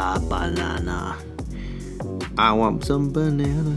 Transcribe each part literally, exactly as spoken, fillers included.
the banana. I want some banana.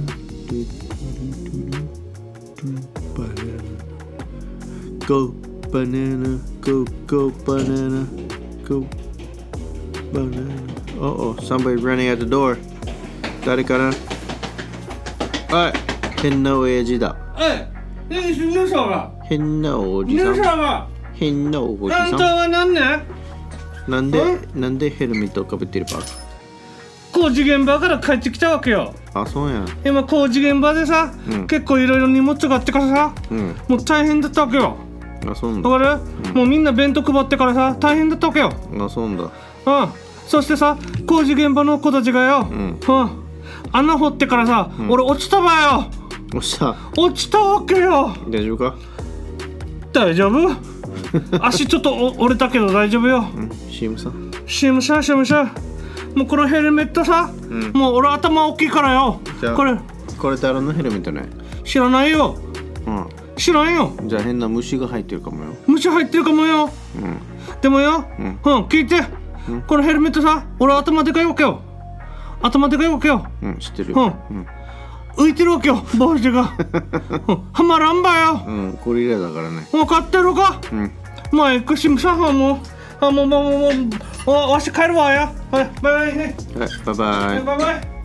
Banana. Go banana. Go go banana. Go banana. Uh oh, somebody running at the door. 誰かな？はい、変な親父だ。 ええ、ヌサが変なおじさん。 ヌサが変なおじさん。 あんたは何ね？ なんでなんでヘルメットをかぶってるか？ 工事現場から帰ってきたわけよ。 あ、そうやん。 今工事現場でさ、うん、結構いろいろ荷物があってからさ、うん、もう大変だったわけよ。 あ、そうなんだ。 わかる？うん、もうみんな弁当配ってからさ大変だったわけよ。 あ、そうなんだ。 うん。そしてさ、工事現場の子たちがよ、うん、うん、穴掘ってからさ、うん、俺落ちたわよ。 落ちた。 落ちたわけよ。 大丈夫か？ 大丈夫？足ちょっと折れたけど大丈夫よ。 うん、シームさん。 シームさん、シームさん。もうこのヘルメットさ、うん、もう俺頭大きいからよ。 じゃあこれこれ誰のヘルメットね？ 知らないよ。うん。知らんよ。 じゃあ変な虫が入ってるかもよ。 虫入ってるかもよ。うん。でもよ、うん、うん、聞いて。うん、このヘルメットさ、俺頭でかいわけよ。頭でかいわけよ。 うん、知ってるよ。 うん。うん、浮いてるわけよ、帽子が。うん、はまらんばよ。 うん、ゴリラだからね。 分かってるか？うん。マイクシムさんはもう、あ、もうもうもうもう、わし帰るわや。はい、バイバイね。 はい、バイバイ。 バイバイ。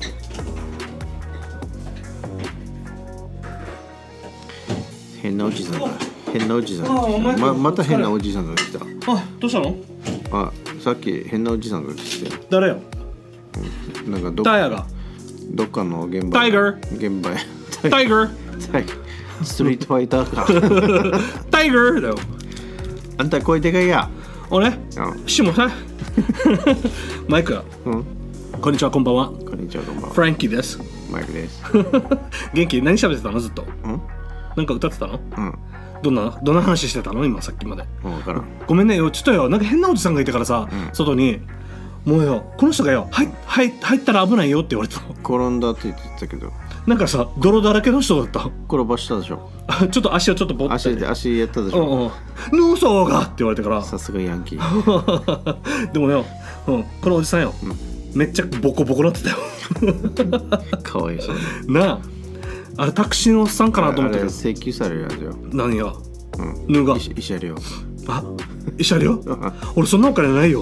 変なおじさんだ。変なおじさん。ままた変なおじさんが来た。 あ、どうしたの？ あ、さっき変なおじさんが来て。 誰よ？ うん、なんかどっタイヤが。 どっかの現場。 タイガー。 現場。 タイガー。 タイ。ストリートファイターか。 タイガーだよ。 あんた声でかいや。 俺？しもさ。マイク。うん。こんにちは、こんばんは。 こんにちは、こんばんは。 フランキーです。 マイクです。 元気？何喋ってたのずっと？うん？なんか歌ってたの？うん。どんなどんな話してたの今さっきまで。 分からん。 ごめんねよ、ちょっとよ、なんか変なおじさんがいてからさ、うん、外にもうよ、この人がよ、はいはい入ったら危ないよって言われたの。 転んだって言ってたけど。 なんかさ、泥だらけの人だった。 転ばしたでしょ。 ちょっと足をちょっとぼって。 足で足やったでしょ。 うんうん。ヌーソーがって言われてから。 さすがヤンキー。 でもよ、うん、このおじさんよ、うん、めっちゃボコボコなってたよ。 かわいそう。 なあ。あれタクシーのおっさんかなと思ったけど請求されるやつよ。 何が？ うん、 ぬが慰謝料。 あ、慰謝料？俺そんなお金ないよ。うん、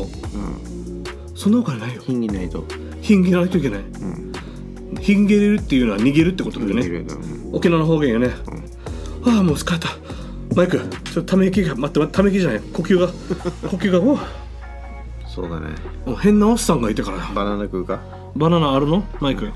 そんなお金ないよ。 ひんぎないと。 ひんぎないといけない。うん、ひんげれるっていうのは逃げるってことだよね。うん、沖縄の方言よね。うん、ああもう疲れた。マイク、ちょっとため息が待って待ってため息じゃない。呼吸が呼吸がお。 そうだね。 変なおっさんがいてから。 バナナ食うか？ バナナあるの？マイク。はい。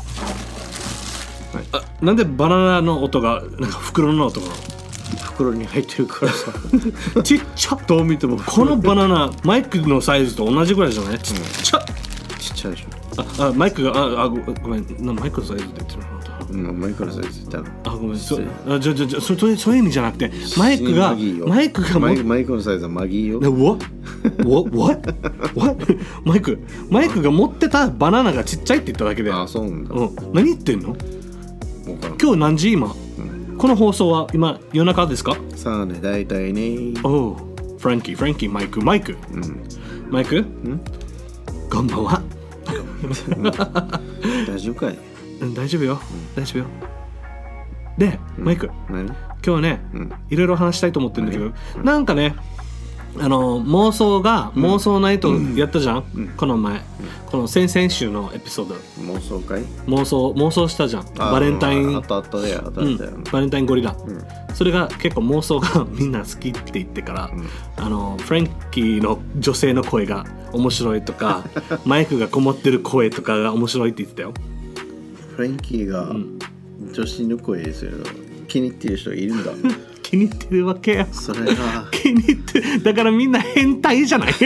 はい、あ、なんでバナナの音がなんか袋の音が袋に入ってるからさ。 ちっちゃ。 どう見てもこのバナナマイクのサイズと同じぐらいじゃない？ちっちゃ、うん、 ちっちゃいでしょ。 ああマイクがああ ご, ごめんなマイクのサイズって言ってるの。 うん、マイクのサイズって言ったの。 あごめんそあじゃじゃじゃそそういう意味じゃなくてマイクがマイクがマイクマイクのサイズはマギーよ。 What? What? What? マイクマイクが持ってたバナナがちっちゃいって言っただけで。 あそうなんだ。 うん、何言ってんの？今日何時今、うん、この放送は今夜中ですか？ さあね、だいたいね。 おう、フランキー、フランキー、マイク、マイク、うん、マイク、うん、こんばんは。 大丈夫かい？ うん、大丈夫よ、うん、大丈夫よ。で、うん、マイク、 何？ 今日はね、うん、いろいろ話したいと思ってるんだけど、うん、なんかね、あの妄想が、うん、妄想ナイトやったじゃん、うん、この前、うん、この先々週のエピソード。 妄想会？ 妄想妄想したじゃん。バレンタイン。 あったあっただよ、あったあったよ、 うん、バレンタインゴリラ、うん、それが結構妄想がみんな好きって言ってから、うん、あのフランキーの女性の声が面白いとかマイクがこもってる声とかが面白いって言ってたよ。 フランキーが女子の声ですよ、気に入ってる人いるんだ。 気に入ってるわけや。 それが気に入ってだからみんな変態じゃない。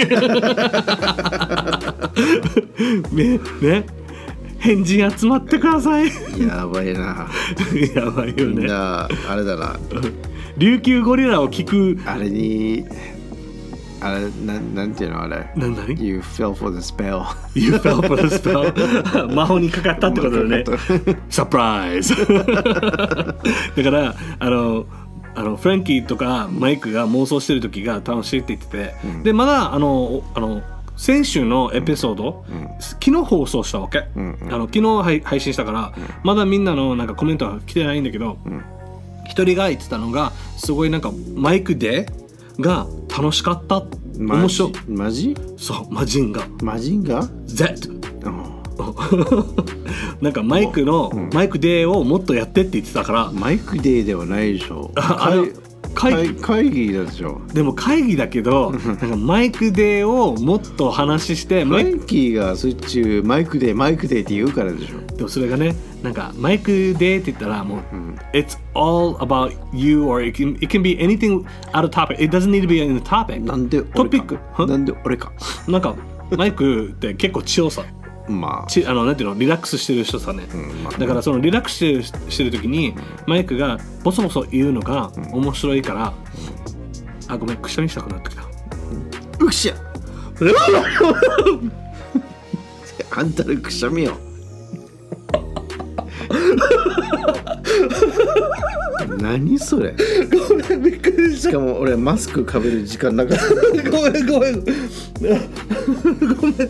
ねね、変人集まってください。 やばいな。 やばいよね。 みんなあれだな。 琉球ゴリラを聞くあれにあれななんていうのあれ。 なんだい ？You fell for the spell. You fell for the spell. 魔法にかかったってことだね。サプライズ。だからあの。あのフランキーとかマイクが妄想してる時が楽しいって言ってて、うん、でまだあのあの先週のエピソード、うん、昨日放送したわけ、うんうん、あの昨日配信したから、うん、まだみんなのなんかコメントは来てないんだけど、うん、一人が言ってたのがすごいなんかマイクでが楽しかった、面白い。 マジ？ そうマジンガマジンガ Z、うん、なんかマイクの、うん、マイクデーをもっとやってって言ってたから。 マイクデーではないでしょ。あれ会議、会議だでしょ。 でも会議だけどなんかマイクデーをもっと話してマイキーがそっちマイクデーマイクデーって言うからでしょ。 でもそれがねなんかマイクデーって言ったらもう、うん、It's all about you or it can, it can be anything out of topic. It doesn't need to be in the topic. なんでトピックなんで俺かなんかマイクって結構強さまあ、 ちあのなんていうのリラックスしてる人さね、うんまあ、だからそのリラックスしてる、してる時に、うん、マイクがボソボソ言うのが面白いから、うん、あごめんくしゃみしたくなってきた、 うん、うくしゃあんたのくしゃみよ何それごめんびっくりした。 しかも俺マスクかぶる時間なかったごめんごめんごめん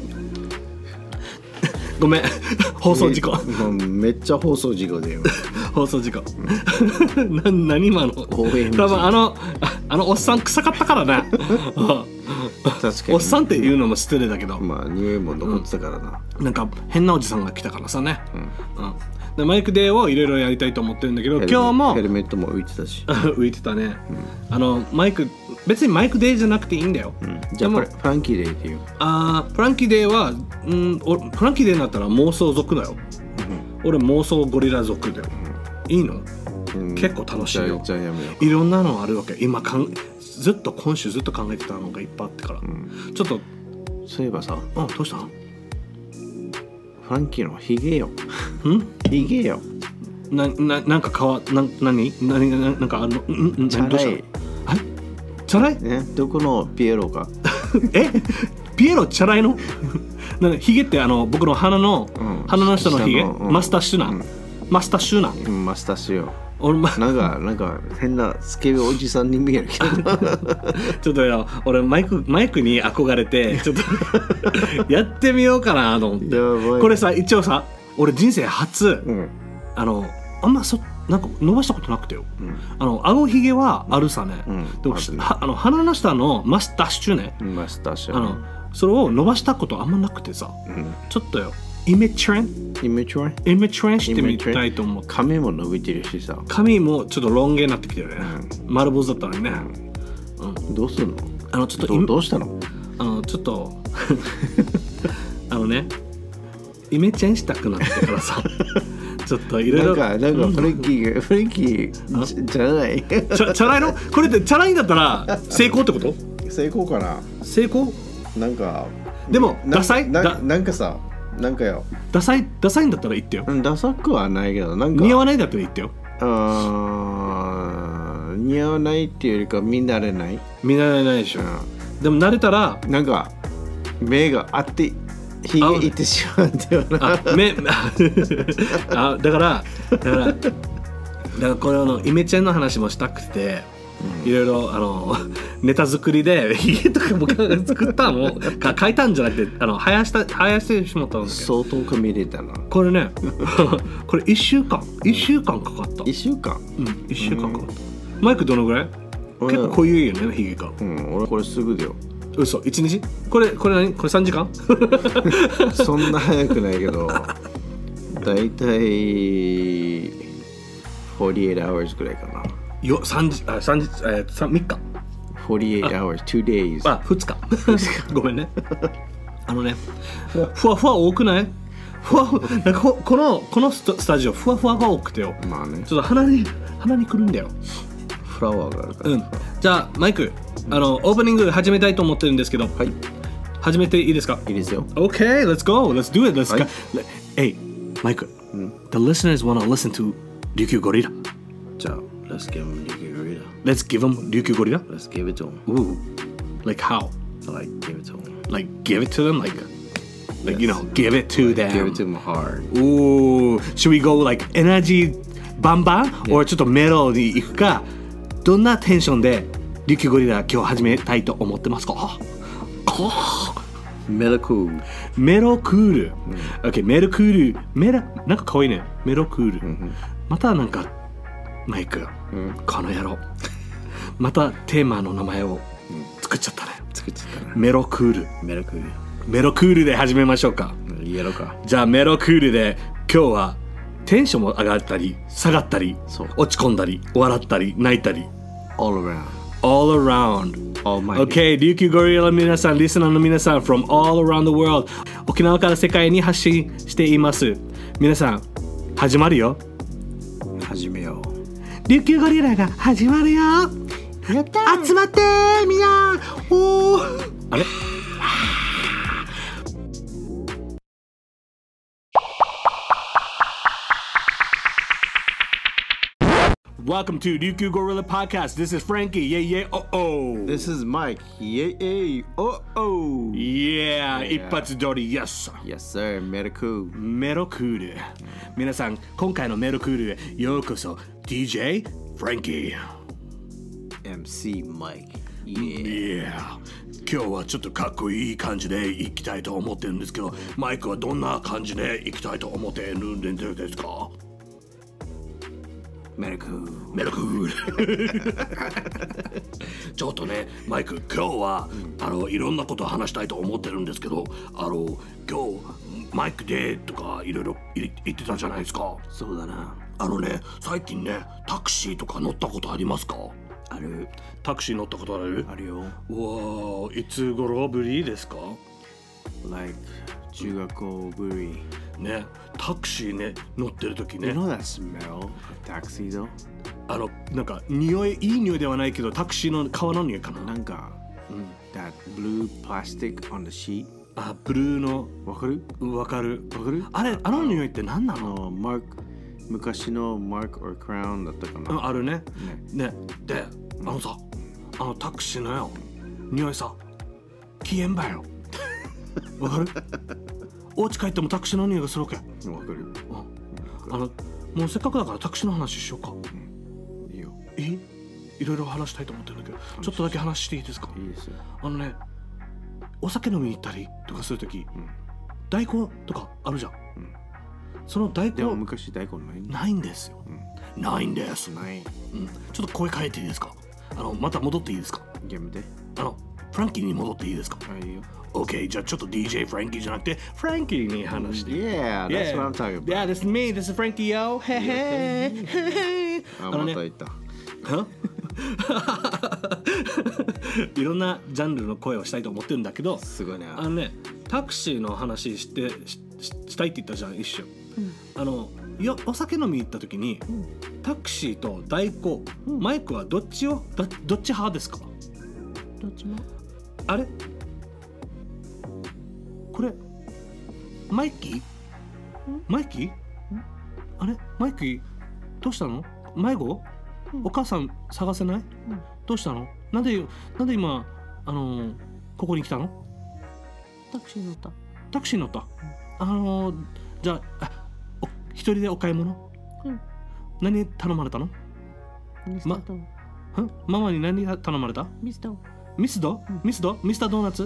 ごめん放送事故めっちゃ放送事故だよ放送事故な何今の多分あのあのおっさん臭かったからね確かにおっさんって言うのも失礼だけどまあ匂いも残ってたからな、 うん、なんか変なおじさんが来たからさね、うんうん、でマイクデーをいろいろやりたいと思ってるんだけど今日もヘルメットも浮いてたし浮いてたね、うん、あのマイク別にマイクデーじゃなくていいんだよ、うん、 じゃあこれフランキーデーっていうあーフランキーデーは、うん、フランキーデーになったら妄想族だよ、うん、俺妄想ゴリラ族だよ、うん、いいの、うん、結構楽しいよ。 じゃあやめよういろんなのあるわけ今かんずっと今週ずっと考えてたのがいっぱいあってから、うん、ちょっとそういえばさあどうしたフランキーのヒゲよんヒゲよなななんかかわな何何ななんかあのんんチャラいチャラい、 ね、どこのピエロかえピエロチャラいのなんヒゲってあの僕の鼻の、うん、鼻の下のヒゲ、うん、マスタッシュな、うん、マスタッシュな、 うん、マスタッシュよ俺、ま、 なんかなんか変なスケベおじさんに見えるけどちょっとよ俺マイクマイクに憧れてちょっとやってみようかなと思ってこれさ一応さ俺人生初、うん、あのあんまそなんか伸ばしたことなくてよ、うん、あの顎ひげはあるさね、うん、でもはあの鼻の下のマスタッシュねマスタッシュあのそれを伸ばしたことあんまなくてさ、うん、ちょっとよイメチュレンイメチュレンイメチュレンしてみたいと思って髪も伸びてるしさ髪もちょっとロン毛になってきてるね、うん、丸坊主だったのにね、 うん、どうするのあのちょっとど, どうしたのあのちょっとあのねイメチェンしたくなってからさちょっといろいろなんかなんかフレンキーフレンキーじゃないチャチャラいのこれってチャラいんだったら成功ってこと？ 成功かな。 成功？ なんかでもダサい？ なだなんかさなんかよダサいダサいんだったら言ってよ。 ダサくはないけどなんか似合わないんだったら言ってよ。 あ似合わないっていうよりか見慣れない見慣れないでしょ、うん、でも慣れたらなんか目があってひげいってしまうんだよな。 あ目あだからだからだからこれあのイメチェンの話もしたくて、うん、いろいろあのネタ作りでひげとかも作ったのか書いたんじゃなくてあの生やした生やしてしまったんですけど相当か見れたなこれねこれいっしゅうかんいっしゅうかんかかったいっしゅうかんうんいっしゅうかんかかった、うん、マイクどのぐらい結構こういうよねひげがうん俺これすぐだよ嘘いちにちこれこれ何これさんじかんそんな早くないけどだいたいよんじゅうはち hours ぐらいかなよさんじあさんじえー、みっかよんじゅうはち hoursに days あふつかごめんねあのねふわふわ多くないふわふわなんかここのこのスタジオふわふわが多くてよまあねちょっと鼻に鼻にくるんだよフラワーがあるからうんじゃあマイクあのオープニング始めたいと思ってるんですけどはい始めていいですかいいですよ OK let's go let's do it let's go Hey マイク The listeners wanna listen to 琉球ゴリラじゃあ Let's give them 琉球ゴリラ Let's give them 琉球ゴリラ Let's give it to them Ooh Like how? Like give it to them Like give it to them like Like yes. you know give it to them Give it to them hard Ooh Should we go like energy バンバン yeah. or ちょっとメロディーいくかどんなテンションで琉球ゴリラ今日始めたいと思ってますかメロクール。 メロクール。OK、メロクール。メラ、なんかかわいいね。メロクール。またなんか、マイク、この野郎。またテーマの名前を作っちゃったね。 作っちゃったね。 メロクール。 メロクール。 メロクールで始めましょうか。 やろうか。 じゃあメロクールで今日はテンションも上がったり下がったり落ち込んだり笑ったり泣いたり all around all around Almighty OK 琉球ゴリラの皆さんリスナーの皆さん from all around the world 沖縄から世界に発信しています皆さん始まるよ始めよう琉球ゴリラが始まるよやった集まってみんなおーあれWelcome to Ryukyu Gorilla Podcast. This is Frankie. Yeah, yeah, oh, oh. This is Mike. Yeah, yeah, oh, oh. Yeah, yeah. 一発撮り Yes. Yes, sir. メロクール。 メロクール。皆さん、今回のメロクールへようこそ。ディージェー Frankie。 エムシー Mike. Yeah. 今日はちょっとかっこいい感じでいきたいと思ってるんですけど、マイクはどんな感じでいきたいと思ってるんですか？ メロクールメロクールちょっとねマイク今日は、うん、あのいろんなことを話したいと思ってるんですけどあの今日マイクでとかいろいろ言ってたじゃないですか。 そうだな。 あのね最近ねタクシーとか乗ったことありますか？ ある。 タクシー乗ったことある？ あるよ。 うわいつ頃ぶりですか？ Like 中学校ぶりね、タクシーね乗ってる時ね。 You know that smell of taxi though? あのなんか匂いいい匂いではないけどタクシーの革の匂いかな。 なんか、うん、that blue plastic on the sheet. あ、ブルーのわかる？ わかる。 わかる？ あれあの匂いって何なの？ あのマーク昔のマーク or crown だったかな。 あ, あるね。ね。ねであのさあのタクシーのよ匂いさ消えんばよ。わかる？お家帰ってもタクシーの匂いがするわけ。わかる。 あのもうせっかくだからタクシーの話しようか。 うん、いいよ。 え？いろいろ話したいと思ってるんだけど、ちょっとだけ話していいですか？ いいですよ。 あのね、お酒飲みに行ったりとかするとき、うん、大根とかあるじゃん。うん、その大根でも昔大根ないんだ。 ないんですよ。うん、ないんです。 ない。 うん。ちょっと声変えていいですか？あのまた戻っていいですか？ ゲームで。 あのフランキーに戻っていいですか？ はい、いいよ。 OK じゃあちょっと ディージェー フランキーじゃなくてフランキーに話して。 Yeah, that's what I'm talking about. Yeah, that's me. This is Frankie, yo. Hey, hey, hey. あ、また言った。 いろんなジャンルの声をしたいと思ってるんだけど、 すごいね。 あのね、タクシーの話してししたいって言ったじゃん一瞬。うん、あのよお酒飲みに行った時に、うん、タクシーと代行、うん、マイクはどっちをどどっち派ですか？ どっちも。 あれ？これマイキー？マイキー？あれマイキーどうしたの？迷子？うん、お母さん探せない？うん、どうしたの？なんでなんで今あのー、ここに来たの？ タクシー乗った。 タクシー乗った。うん、あのー、じゃあ、あお一人でお買い物？うん。何頼まれたの？ ミスド。 ま、ママに何頼まれた？ ミスド。 ミスド？うん、ミスド？ミスタードーナツ？うん、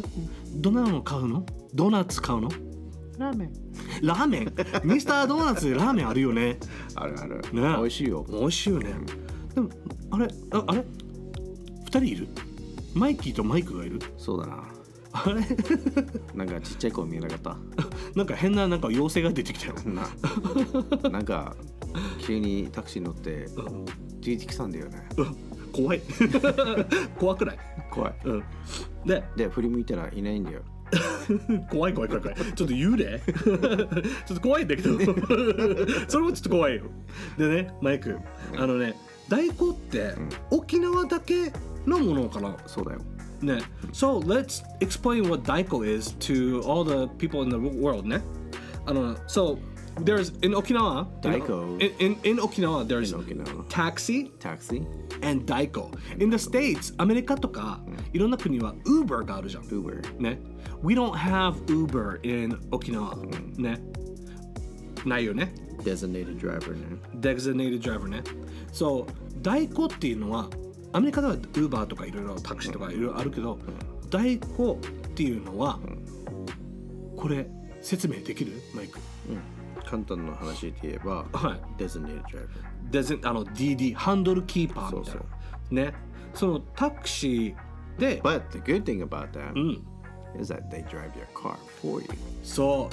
どんなの買うの？ドーナツ買うの？ ラーメン。 ラーメン？ミスタードーナツでラーメンあるよね。 あるある。 ね、 美味しいよ。 美味しいよね。でもあれああれ二人いる？マイキーとマイクがいる？ そうだな。 あれなんかちっちゃい子見えなかった？ なんか変ななんか妖精が出てきたよ。 ななんか急にタクシー乗って出てきたんだよね。 怖い。怖くない？ 怖い。 うん。で、 で振り向いたらいないんだよ。 怖い怖い怖い怖い。ちょっと幽霊？ちょっと怖いんだけど。それもちょっと怖いよ。でね、マイク、あのね、大根って沖縄だけのものかな？ そうだよ。 ね。So let's explain what 大根 is to all the people in the world ね。あの、so there's in Okinawa, Daiko. In, in, in Okinawa, there's in Okinawa. taxi, taxi, and Daiko. In the States, アメリカとか、うん、いろんな国は Uber があるじゃん。 Uber. ね。We don't have Uber in Okinawa、うん、ね。ないよね。 Designated driver ね。 Designated driver ね。So 代行っていうのはアメリカでは Uber とかいろいろタクシーとかいろいろあるけど、うん、代行っていうのは、これ説明できるマイク？ うん、簡単な話で言えば、 はい。 designated driver。 デゼあの ディーディー ハンドルキーパーみたいな。 そうそね。そのタクシーで、 But the good thing about that うん、 is that they drive your car for you. そう。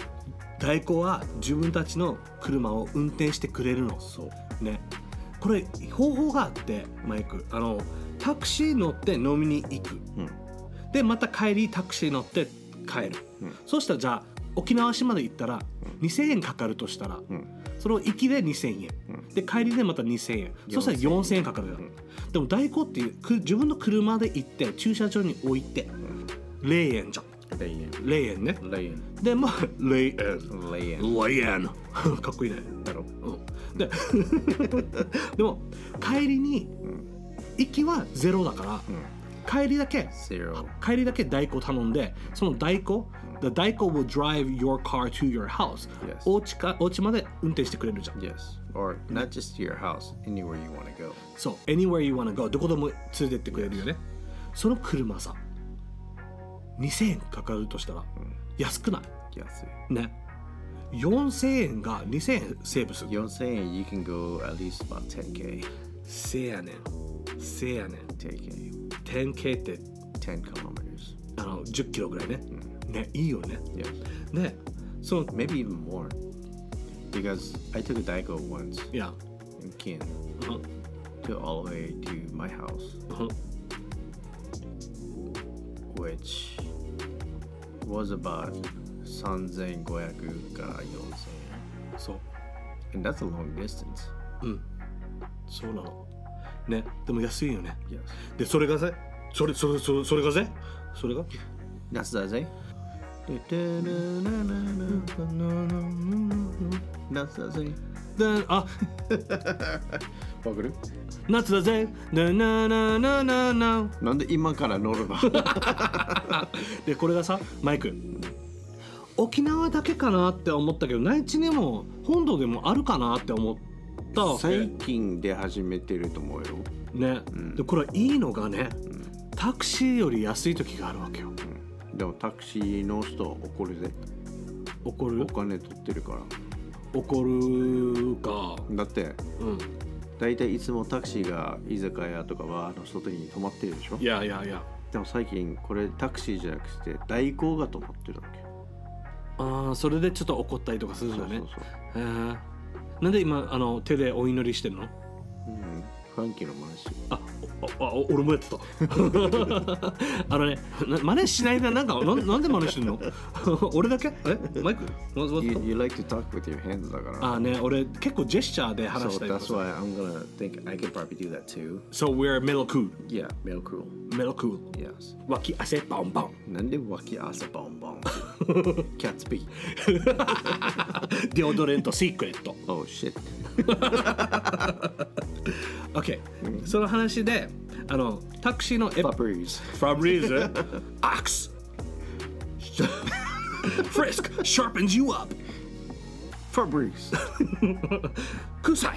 代行は自分たちの車を運転してくれるの。 そうね。これ方法があってマイク、あのタクシー乗って飲みに行く。 うん、 でまた帰りタクシー乗って帰る。うん、そうしたらじゃあ沖縄市まで行ったらにせんえんかかるとしたら、うん、それを行きでにせんえん、うん、で帰りでまたにせんえん、そしたらよんせんえんかかるじゃん、うん、でも代行っていう自分の車で行って駐車場に置いて、うん、れいえんじゃん。れいえんれいえんね。 れいえんでまあれいえんれいえんれいえんかっこいいねだろ、うん、ででも帰りに、うん、行きはゼロだから、うん、帰りだけ帰りだけ代行頼んで、その代行、うん、the 代行 will drive your car to your house、yes. お家かお家まで運転してくれるじゃん。 Yes, or not just to your house, anywhere you want to go。 そう、anywhere you want to go、 どこでも連れてってくれるよね、yes. その車さにせんえんかかるとしたら、うん、安くない？ 安いね。よんせんえんがにせんえんセーブする。 よんせんえん you can go at least about テンケー。 せやねんせやねんテンケーテンケー ってじゅっキロメートル、 あのじゅっキロぐらいね、うん、ね、いいよね。 Yes. ね、その maybe even more because I took a Daiko once yeah. in Kin uh-huh. to all the way to my house、uh-huh. which was about さんぜんごひゃくからよんせんえん。 そう。 And that's a long distance。 うん。そうなの。ね、でも安いよね。 Yes. で、それがぜ、それ、それ、それ、それがぜ、それが夏だぜ。夏だぜ。 で、あ、 わかる？ 夏だぜ。なななななな。 なんで今から乗るの？ で、これがさ、マイク。沖縄だけかなって思ったけど、内地にも本土でもあるかなって思ったわけ。 最近出始めてると思うよ。 ね、うん、でこれいいのがね、うん、タクシーより安い時があるわけよ、 うん、でもタクシーの人怒るぜ。 怒る？ お金取ってるから。 怒るか。 だって、うん、だいたいいつもタクシーが居酒屋とかバーの外に止まってるでしょ。 いやいやいや。 でも最近これタクシーじゃなくて代行が止まってるわけ。 ああ、それでちょっと怒ったりとかするんだね。 そうそうそう。 へえ。なんで今あの手でお祈りしてるの？ うん、ファンキーの真似してる。 あ、あ、あ、俺もやってた。あのね、真似しないな、なんかな、なんで真似してるの？俺だけ？え、マイク？ You, you like to talk with your hands だから。 あね、俺結構ジェスチャーで話したりとか。 So that's why I'm gonna think I could probably do that too. So we're middle cool. Yeah, middle cool. Middle cool. Yes. 脇汗ボンボン。 なんで脇汗ボンボン？キャッツピー。 デオドレントシークレット。 Oh shit. OK、うん、その話であのタクシーのエファブリーズファブリーズアクスフリスク sharpens you up ファブリーズ臭い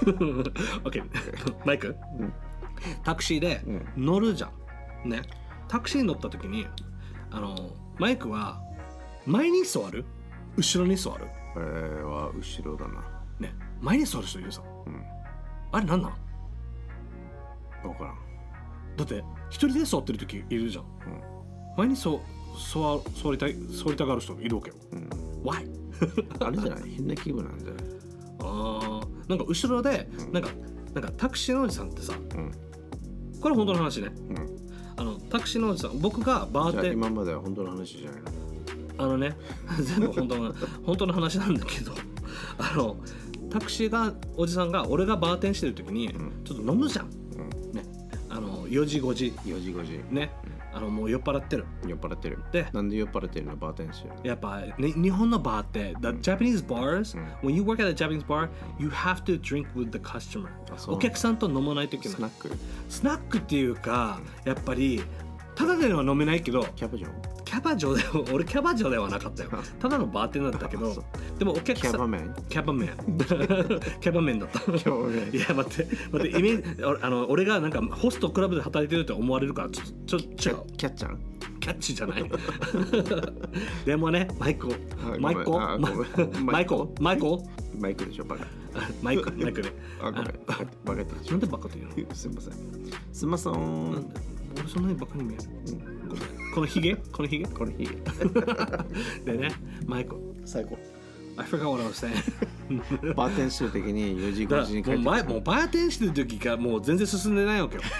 OK マイク、うん、タクシーで乗るじゃん、うん、ね、タクシーに乗った時にあのマイクは前に座る後ろに座る？ えー、は後ろだな。 ね、前に座る人いるさ、うん、あれなんなん？ 分からん。 だって一人で座ってる時いるじゃん、うん、前にそ座座りたい座りたがる人いるわけよ、うん、Why？ あれじゃない？変な気分なんじゃない？ あー、なんか後ろで、うん、なんかなんかタクシーのおじさんってさ、うん、これ本当の話ね、うん、あのタクシーのおじさん、僕がバーテン、 今までは本当の話じゃないの？ あのね全部本当の本当の話なんだけど、あのタクシーがおじさんが俺がバーテンしてる時に、うん、ちょっと飲むじゃん、うん、ね、あのよじごじよじごじね、うん、あのもう酔っ払ってる酔っ払ってる。 で、 なんで酔っ払ってるの？バーテンしてる。 やっぱ、ね、日本のバーって、the Japanese bars、うん、when you work at a Japanese bar you have to drink with the customer。 お客さんと飲まないといけない。 スナックスナックっていうか、やっぱりただでは飲めないけど、 キャバ嬢キャバ嬢では俺キャバ嬢ではなかったよ。ただのバーテンだったけど、でもお客さんキャバメンキャバメンキャバメンだった。 キャバメン。 いや待って待ってイメージ、あの俺がなんかホストクラブで働いてるって思われるからちょっとちょっと違う。 キャッちゃんキャッチじゃないでもねマイコマイコマイコマイコマイクでしょバカマイクマイクねあごめんバカバカってなんでバカって言うのすいませんすいません俺そんなにバカに見える、うん、このヒゲこのヒゲこのヒゲでねマイコ最高 I forgot what I was saying バーテンしてる時によじごじに帰ってもうもうバーテンしてる時がもう全然進んでないわけよ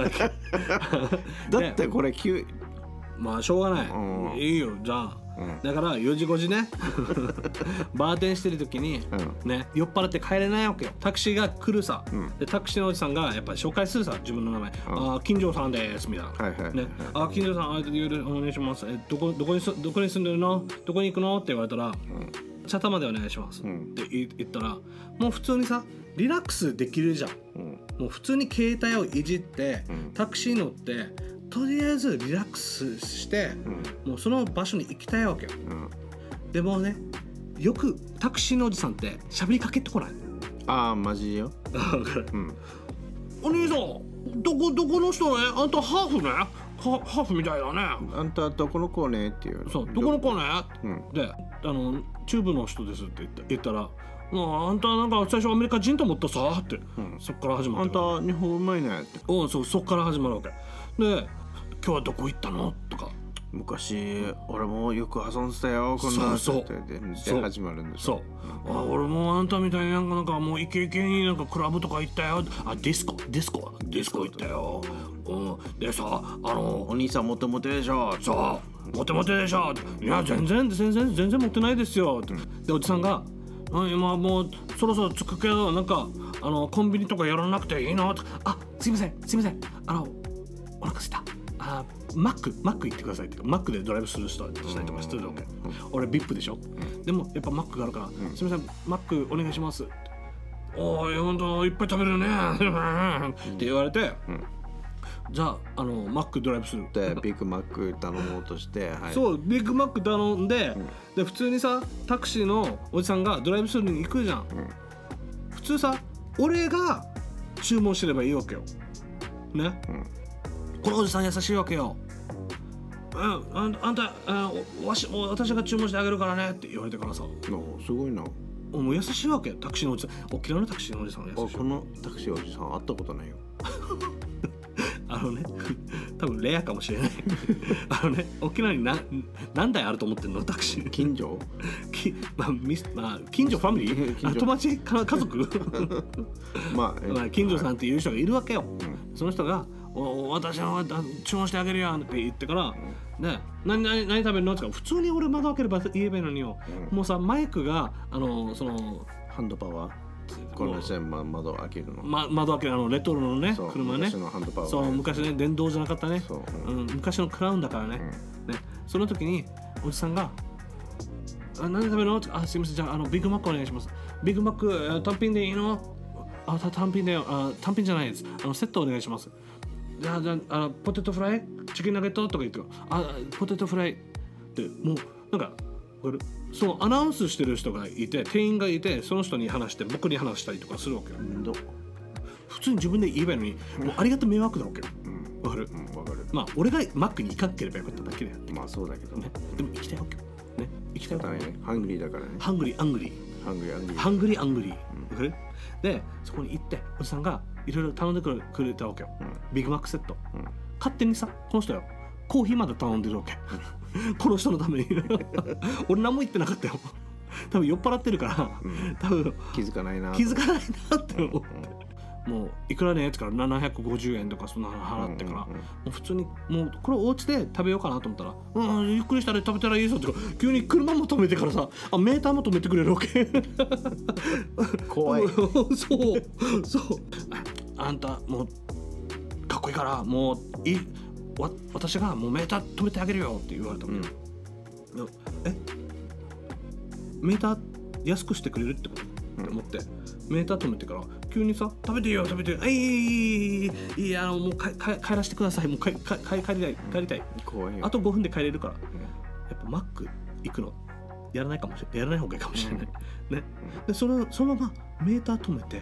だってこれ急まあしょうがない、うん、いいよじゃあ、うん、だからよじごじねバーテンしてる時に、うん、ね酔っ払って帰れないわけよタクシーが来るさ、うん、でタクシーのおじさんがやっぱり紹介するさ自分の名前、うん、あ金城さんですみたいな、はいはいね、あ金城さんあお願いしますえどこどこにどこに住んでるのどこに行くのって言われたら、うんチャタまでお願いします、うん、って言ったらもう普通にさリラックスできるじゃん、うん、もう普通に携帯をいじって、うん、タクシー乗ってとりあえずリラックスして、うん、もうその場所に行きたいわけよ、うん、でもねよくタクシーのおじさんって喋りかけてこないああマジよ、 うん、お兄さんどこどこの人ねあんたハーフねハーフみたいだねあんたどこの子ねっていうそうどこの子ね、うん、であのチューブの人ですって言った、言ったらもうあんたなんか最初アメリカ人と思ったさって、うん、そっから始まってあんた日本うまいねっておそうそっから始まるわけで今日はどこ行ったのとか昔俺もよく遊んでたよこんなそうそうでで始まるんですそう、うん、あ俺もあんたみたいになんかなんかもうイケイケになんかクラブとか行ったよあディスコディスコディスコ行ったよ、うん、でさあのお兄さんモテモテでしょそうモテモテでしょいや全然全然全然モテないですよ、うん、でおじさんが今もうそろそろ着くけどなんかあのコンビニとかやらなくていいのあすいませんすいませんあのお腹すいたあマックマック行ってくださいってマックでドライブする人したりとかしてるわけ、うん、俺 ブイアイピー でしょ、うん、でもやっぱマックがあるから、うん、すみませんマックお願いしますおーいほんといっぱい食べるねって言われて、うん、じゃああのマックドライブするでビッグマック頼もうとして、 はい、そうビッグマック頼んで、うん、で普通にさタクシーのおじさんがドライブするに行くじゃん、うん、普通さ俺が注文してればいいわけよね、うんこのおじさん優しいわけよ。うん、あんあんた、あわしもう私が注文してあげるからねって言われてからさ。 すごいな。 もう優しいわけ。タクシーのおじさん、沖縄のタクシーのおじさんが優しい。 このタクシーおじさん会ったことないよ。 あのね、多分レアかもしれない。あのね、沖縄に何何台あると思ってんのタクシー。 近所？ きまあミスまあ近所ファミリー？あ友達か家族？まあ、まあ近所さんっていう人がいるわけよ。うん、その人が。お私は注文してあげるやんって言ってから、うん、で何何何食べるのって言うから普通に俺窓開ければ言えばいいのによ、うん、もうさマイクがあのそのハンドパワーこの線窓開けるの、 ま、窓開けるあのレトロのね車ね昔のハンドパワー、ね、 そう昔ね電動じゃなかったね、うんうん、昔のクラウンだからね、うん、ねその時におじさんがあ何食べるのってあすいませんじゃあ、あのビッグマックお願いしますビッグマック単品でいいのあ単品であ単品じゃないですあのセットお願いしますじゃあじゃあ、あのポテトフライチキンナゲットとか言ってあポテトフライってもうなんかそのアナウンスしてる人がいて店員がいてその人に話して僕に話したりとかするわけよ普通に自分で言えばいいのにもうありがた迷惑だわけよ、うん、わかる、うん、わかるまあ俺がマックに行かなければよかっただけでやってまあそうだけどねでも行きたいわけよね行きたいわけねハングリーだからねハングリーアングリーハングリーアングリーハングリーアングリー、うん、わかるでそこに行っておじさんがいろいろ頼んでくれたわけよ、うん、ビッグマックセット、うん、勝手にさこの人よコーヒーまで頼んでるわけこの人のために俺何も言ってなかったよ多分酔っ払ってるから、うん、多分気づかないな気づかないなって思って、うん、もういくらねってからななひゃくごじゅうえんとかそんな払ってから、うんうんうん、もう普通にもうこれお家で食べようかなと思ったらうんゆっくりしたら食べたらいいぞって急に車も止めてからさあメーターも止めてくれるわけ怖いそうそうあんたもうかっこいいからもういいわ私がもうメーター止めてあげるよって言われたの、うん、えメーター安くしてくれるってこと、うん、って思ってメーター止めてから急にさ食べていいよ食べていいよいいいいいいあのもう帰帰らせてくださいもう帰帰帰りたい帰りたい怖いよあとごふんで帰れるから、うん、やっぱマック行くのやらないかもしれないやらない方がいいかもしれない、うん、ね、うん、でそのそのままメーター止めて、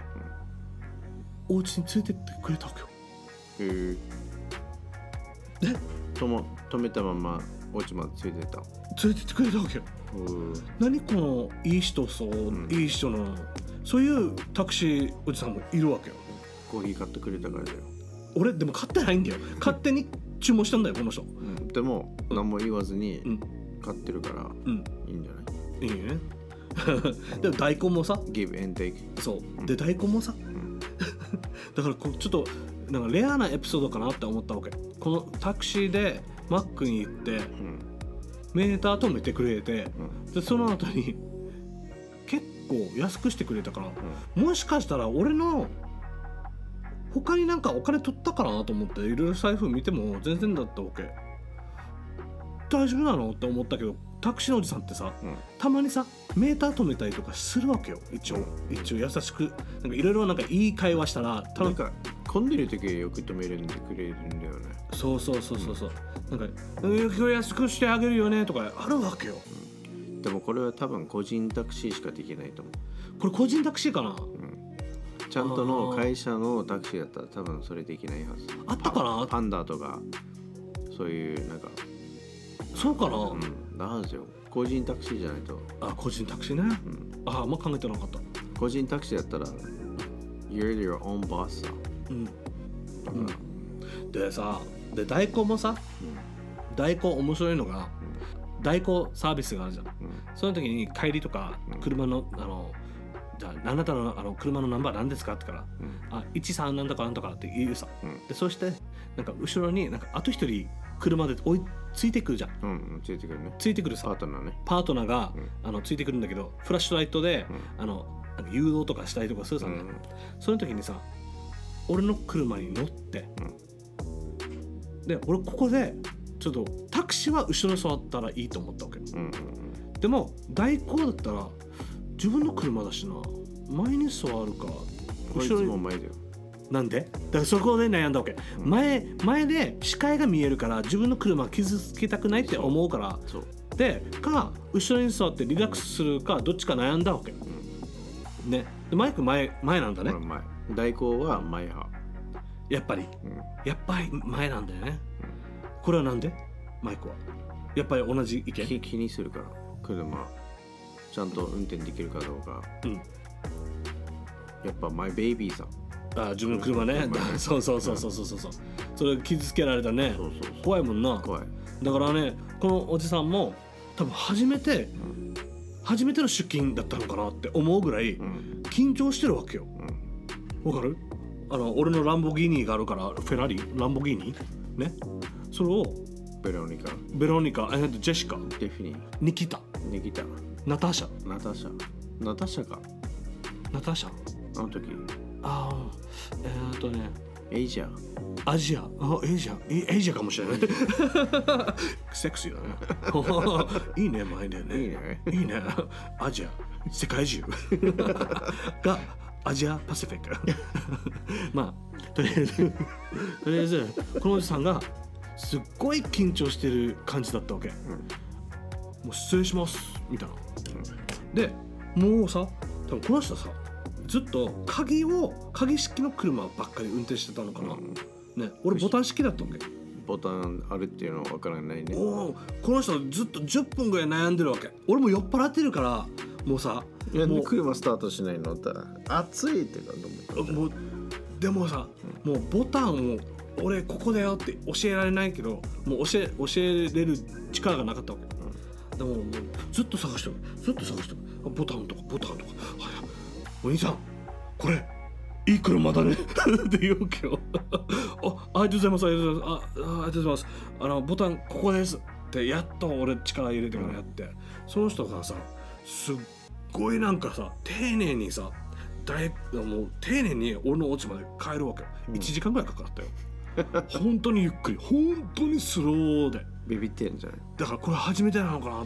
うん、お家に連れてってくれたわけよ。へえ。でとも止めたままお家まで連れてった。 連れてってくれたわけよ。何このいい人そう、うん、いい人のそういうタクシーおじさんもいるわけよ。 コーヒー買ってくれたからだよ。 俺でも買ってないんだよ。勝手に注文したんだよこの人、うん、 でも何も言わずに買ってるから、うん、いいんじゃない。 いいねでも大根もさ Give and take そう、うん、で大根もさ、うん、だからこうちょっとなんかレアなエピソードかなって思ったわけ。このタクシーでマックに行って、うん、メーター止めてくれて、うん、でその後に結構安くしてくれたから、うん、もしかしたら俺の他になんかお金取ったかなと思っていろいろ財布見ても全然だったわけ。大丈夫なのって思ったけど、タクシーのおじさんってさ、うん、たまにさメーター止めたりとかするわけよ。一応一応優しくなんかいろいろなんかいい会話したらなんか混んでる時はよく止めるんでくれるんだよね。 そうそうそうそうそう、うん、なんかこれ安くしてあげるよねとかあるわけよ、 うん、でもこれは多分個人タクシーしかできないと思う。 これ個人タクシーかな、うん、 ちゃんとの会社のタクシーだったら多分それできないはず。 あったかな、 パンダとかそういうなんかそうかな、 うん、なんですよ。個人タクシーじゃないと。 あ、個人タクシーね、うん、ああ、あんま考えてなかった。 個人タクシーだったら You're your own boss さ、うん、 うん、でさ、で大根もさ、うん、大根面白いのが、うん、大根サービスがあるじゃん、うん、その時に帰りとか車の、うん、あのじゃああなたの、あの車のナンバー何ですかってから、うん、あいちさんなんとかなんとかって言うさ、うん、でそしてなんか後ろになんかあと一人車で追いついてくるじゃん、 うんうん、ついてくるね。 ついてくるさパートナーね。 パートナーが、うん、あのついてくるんだけど、フラッシュライトで、うん、あのなんか誘導とかしたりとかするさね、うん、その時にさ俺の車に乗って、うん、で俺ここでちょっとタクシーは後ろに座ったらいいと思ったわけ、うんうんうん、でも代行だったら自分の車だしな、前に座るか後ろにも前だよ。 なんで？だからそこで悩んだわけ、うん、前, 前で視界が見えるから自分の車を傷つけたくないって思うからそうでか後ろに座ってリラックスするかどっちか悩んだわけ、うん、ね。でマイク前前なんだね。 前代行は前派やっぱり、うん、やっぱり前なんだよね、うん、これはなんでマイクはやっぱり同じ意見？ 気, 気にするから車ちゃんと運転できるかどうか、うん、やっぱマイベイビーさん、 あ自分の車ねそうそうそうそうそうそう、それ傷つけられたね。そうそうそう、怖いもんな。 怖い。だからねこのおじさんも多分初めて、うん、初めての出勤だったのかなって思うぐらい緊張してるわけよ、うん、わかる？あの俺のランボギーニがあるから、フェラーリランボギーニね、それをベロニカベロニカ、ジェシカ、 デフィニニキタニキタナターシャナターシャナターシャかナターシャあの時ああえー、っとねエイジアアジアあエイジアエイジアかもしれないセクシーだねいいね前でねいいねいいねアジア世界中がアジアパシフィックまあとりあえずとりあえずこのおじさんがすっごい緊張してる感じだったわけ、うん、もう失礼しますみたいな、うん、でもうさ多分この人さずっと鍵を鍵式の車ばっかり運転してたのかな、うん、ね、俺ボタン式だったわけ。 ボタンあるっていうのは分からないね。 おこの人ずっとじゅっぷんぐらい悩んでるわけ。俺も酔っ払ってるからもうさいやもう車スタートしないのって暑いってかと思ったもうでもさ、うん、もうボタンを俺ここだよって教えられないけどもう教え教えれる力がなかったわけ、うん、でももうずっと探してるずっと探してるボタンとかボタンとか、はい、お兄さんこれいい車だねって言うわけよあ、ありがとうございますありがとうございますあ、ありがとうございますあのボタンここですってやっと俺力入れてからやって、うん、その人がさすっごいなんかさ丁寧にさだいもう丁寧に俺のお家まで帰るわけよ、うん、いちじかんぐらいかかったよ本当にゆっくり本当にスローでビビってんじゃないだからこれ初めてなのかな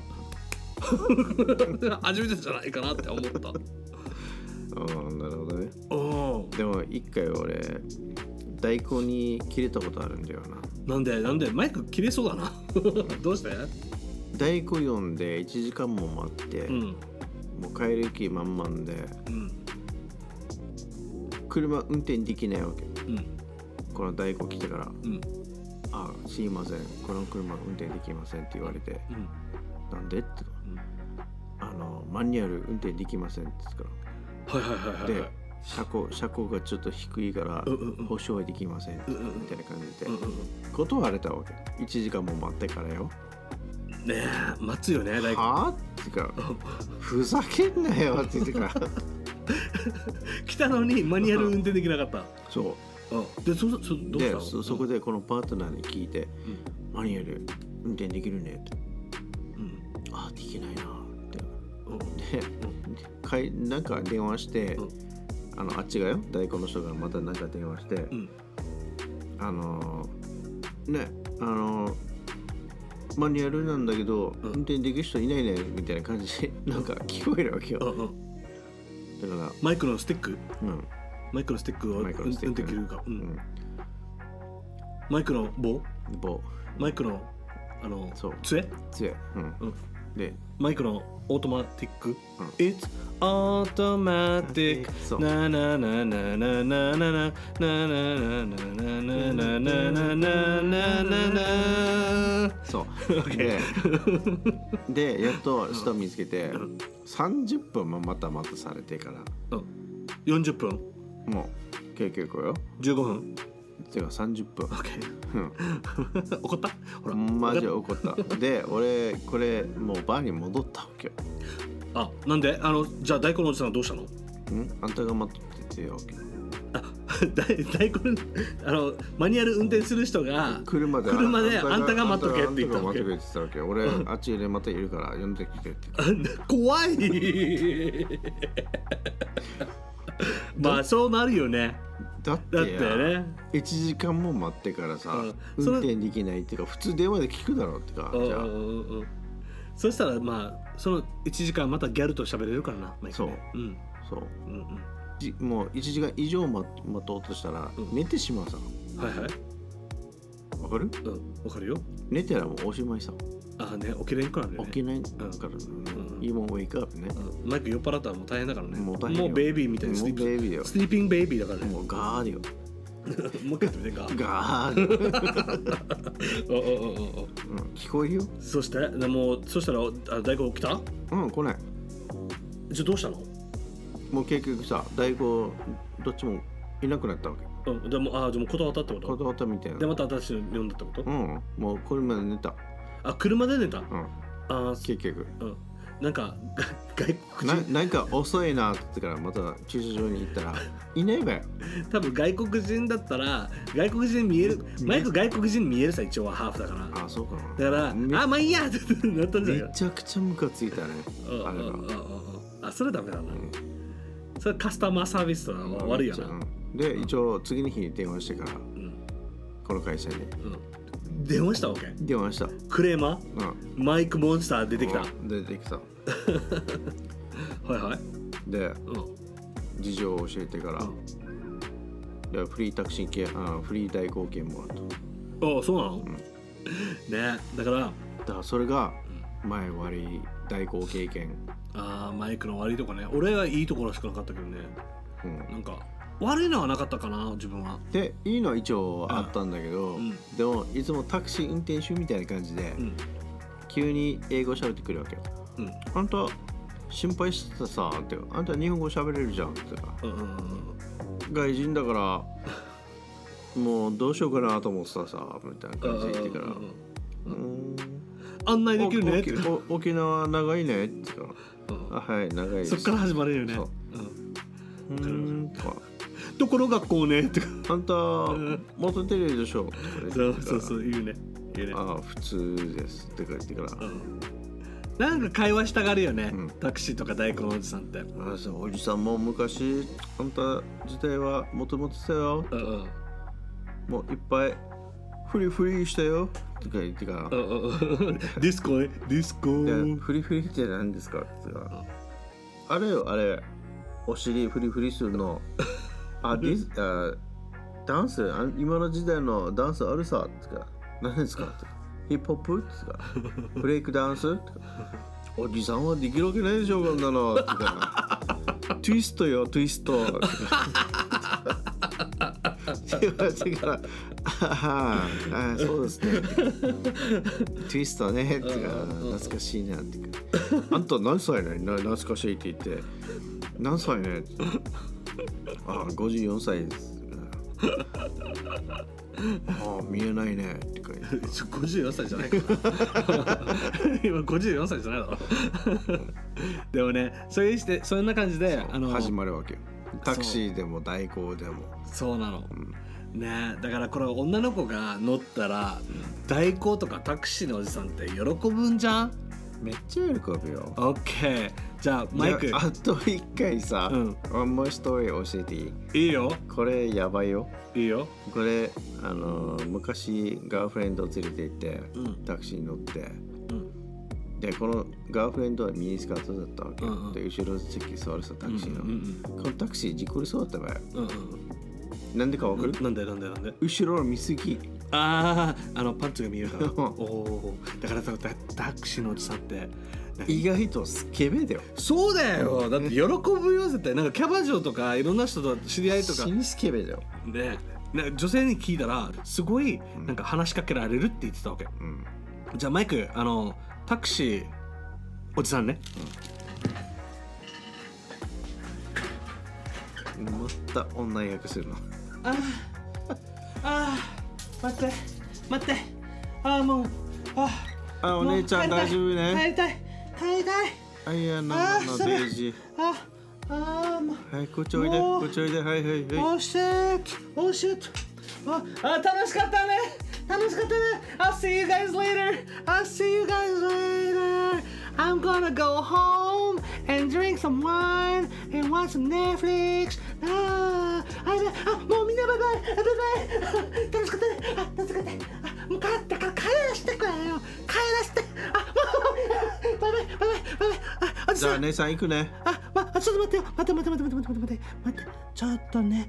初めてじゃないかなって思ったああなるほどね。でも一回俺代行に切れたことあるんだよな。 なんでなんでマイク切れそうだなどうして代行呼んでいちじかんも待って、うん、もう帰る気満々で、うん、車運転できないわけ、うん、この代行来てから、うん、 あすいませんこの車運転できませんって言われて、 うん、 なんでって、うん、あのマニュアル運転できませんって言ったから、 はいはいはいはい、 で車高車高がちょっと低いから、 うんうんうん、 保証はできません、うんうん、みたいな感じで、うんうん、断れたわけ。いちじかんも待ってからよ。 ねえ待つよね。 はあってかふざけんなよって言ってから来たのにマニュアル運転できなかった。 そう、 うん、で そ, そどうしたの？ で そ, そこでこのパートナーに聞いて、うん、マニュアル運転できるねって、うん、あできないなって、うん、で、うん、かいなんか電話して、うん、あのあっちがよ大根の人がまたなんか電話して、うん、あのねあのマニュアルなんだけど、うん、運転できる人いないねみたいな感じでなんか聞こえるわけよ、うんうん、だからマイクのスティック、 うん、 マイクのスティックを運転できるか、うんうん、マイクの棒棒マイクのあの杖杖、うんうん、でマイクのオートマティック、うん、It's automatic なななななななななななななななななそうででやっと人見つけてさんじゅっぷんもまた待たされてから、 うん、よんじゅっぷんもう結局よじゅうごふんてかさんじゅっぷん、 うん、怒ったほらマジ怒ったで俺これもうバーに戻ったわけよ。 あなんであのじゃあ大根のおじさんはどうしたの？んあんたが待っててよわけ。 あ大根あのマニュアル運転する人が車で車であんたが待っとけって言ったわけ。 俺あっちでまたいるから呼んできてって怖いまあそうなるよね。 だってやだってねいちじかんも待ってからさ、うん、運転できないっていうか普通電話で聞くだろうってか、じゃあ、うんうん、 そしたらまあそのいちじかんまたギャルと喋れるからな、ね、 そう、うん、そう、うんうん、もういちじかん以上待とうとしたら、うん、寝てしまうさ。 はいはいわかる？ うんわかるよ。 寝てらもうおしまいさ。 ああね起きれんからね。 起きないからね。いいもんウェイクアップね。 マイク酔っ払ったらもう大変だからね。 もう大変よ。 もうベイビーみたいなスリーピングベイビーよ。スリーピングベイビーだからね。 もうガーディよ。 もう一回やってみてガー。 ガーディ。おおおおお。聞こえるよ。 そしてでもそしたらあ大根起きた？ うん来ない。 じゃあどうしたの？ もう結局さ大根どっちもいなくなったわけ。 うん、でもあでも断ったってこと？ 断ったみたいな。 でまた私の呼んだってこと？ うんもうこれまで寝た。 あ車で寝た？うん。 あ結局。 うん。なんか外国人 な, なんか遅いなって言ってからまた駐車場に行ったらいないわよ。 多分外国人だったら外国人見えるマイク外国人見えるさ一応はハーフだから。 あそうかな。 だからあまあいいやってなったんじゃない？ めちゃくちゃムカついたね。ああれがあそれダメだな、うん、それカスタマーサービスは悪いよな、うん、 で一応次の日に電話してから、うん、この会社に、うん、 電話したわけ？ 電話したクレーマー、うん、マイクモンスター出てきた、 出てきたはいはいで、うん、事情を教えてから、うん、でフリータクシー系あフリー代行券もあった。 ああそうなの、うん、ねだからだからそれが前悪い代行経験。 ああマイクの悪いとこね。俺はいいところしかなかったけどね、うん、なんか悪いのはなかったかな自分は。 でいいのは一応あったんだけど、うん、でもいつもタクシー運転手みたいな感じで、うん、急に英語喋ってくるわけよ、うん、あんた心配してたさってあんた日本語喋れるじゃんってか、うんうんうん、外人だからもうどうしようかなと思ってたさみたいな感じで言ってから、うんうん案内できるねって沖縄長いねって言ったら、うん、あはい長いです。 そっから始まるよね。そう、うん、うんとかどこの学校ねってあんた元テレビでしょそうそうそう言うね言うね。 あ普通ですって言ってから、うん、 なんか会話したがるよね、うん、タクシーとか大根おじさんって。 あそうおじさんも昔あんた自体はもともとしたよ、うんうん、もういっぱいフリフリしたよとか言ってからディスコねディスコフリフリって何ですかって言ったらあれよあれお尻フリフリするのあディスあダンス今の時代のダンスあるさって言ったら何ですかってヒップホップって言ったらブレイクダンスっておじさんはできるわけないでしょこんなのって言ったらトゥイストよトゥイスト言われてからああそうですねツイストねって懐かしいなってあんた何歳ね懐かしいって言って何歳ねああごじゅうよんさいですああ見えないねってかごじゅうよんさいじゃないか今ごじゅうよんさいじゃないだろでもねそういうしてそんな感じであの始まるわけよタクシーでも代行でもそうなの、うん、ねだからこれ女の子が乗ったら、うん、代行とかタクシーのおじさんって喜ぶんじゃんめっちゃ喜ぶよ。 オッケー。じゃあマイク。 あと一回さ、うん、One more story 教えていい？ いいよ。 これやばいよ。 いいよ。 これあの昔ガーフレンドを連れて行って、うん、タクシーに乗って、うん、でこのガーフレンドはミニスカートだったわけ、うんうん、で後ろ席座るさタクシーの、うんうんうん、このタクシー事故りそうだったわよ、うんうん、なんでかわかる？ なんでなんでなんで後ろの見過ぎ。 ああ、あのパンツが見えるからおお、だからさタクシーのおじさんって意外とスケベだよ。 そうだよ。だって喜ぶよ絶対。なんかキャバ嬢とかいろんな人と知り合いとか死にスケベだよ。 で、女性に聞いたらすごいなんか話しかけられるって言ってたわけ、うん、じゃあマイクあのタクシーおじさんね、 うん、また女役するの。 ああ待って待ってああもうああお姉ちゃん大丈夫ね。 帰りたい帰りたい。 あいやなんだデイジー。 ああもうはいこっちおいでこっちおいではいはいはい。 おーシェットおーシェットああ楽しかったね楽しかったね。I'll see you guys later I'll see you guys later I'm gonna go home and drink some wine and watch some Netflix あーあもうみんなバイバイバイバイ楽しかったねあ楽しかったあもう帰ったから帰らせてくれよ帰らせてあもうバイバイバイバイバイバイあじゃあ姉さん行くね。 あ、ま、ちょっと待ってよ待って待って待って待って待って待ってちょっとね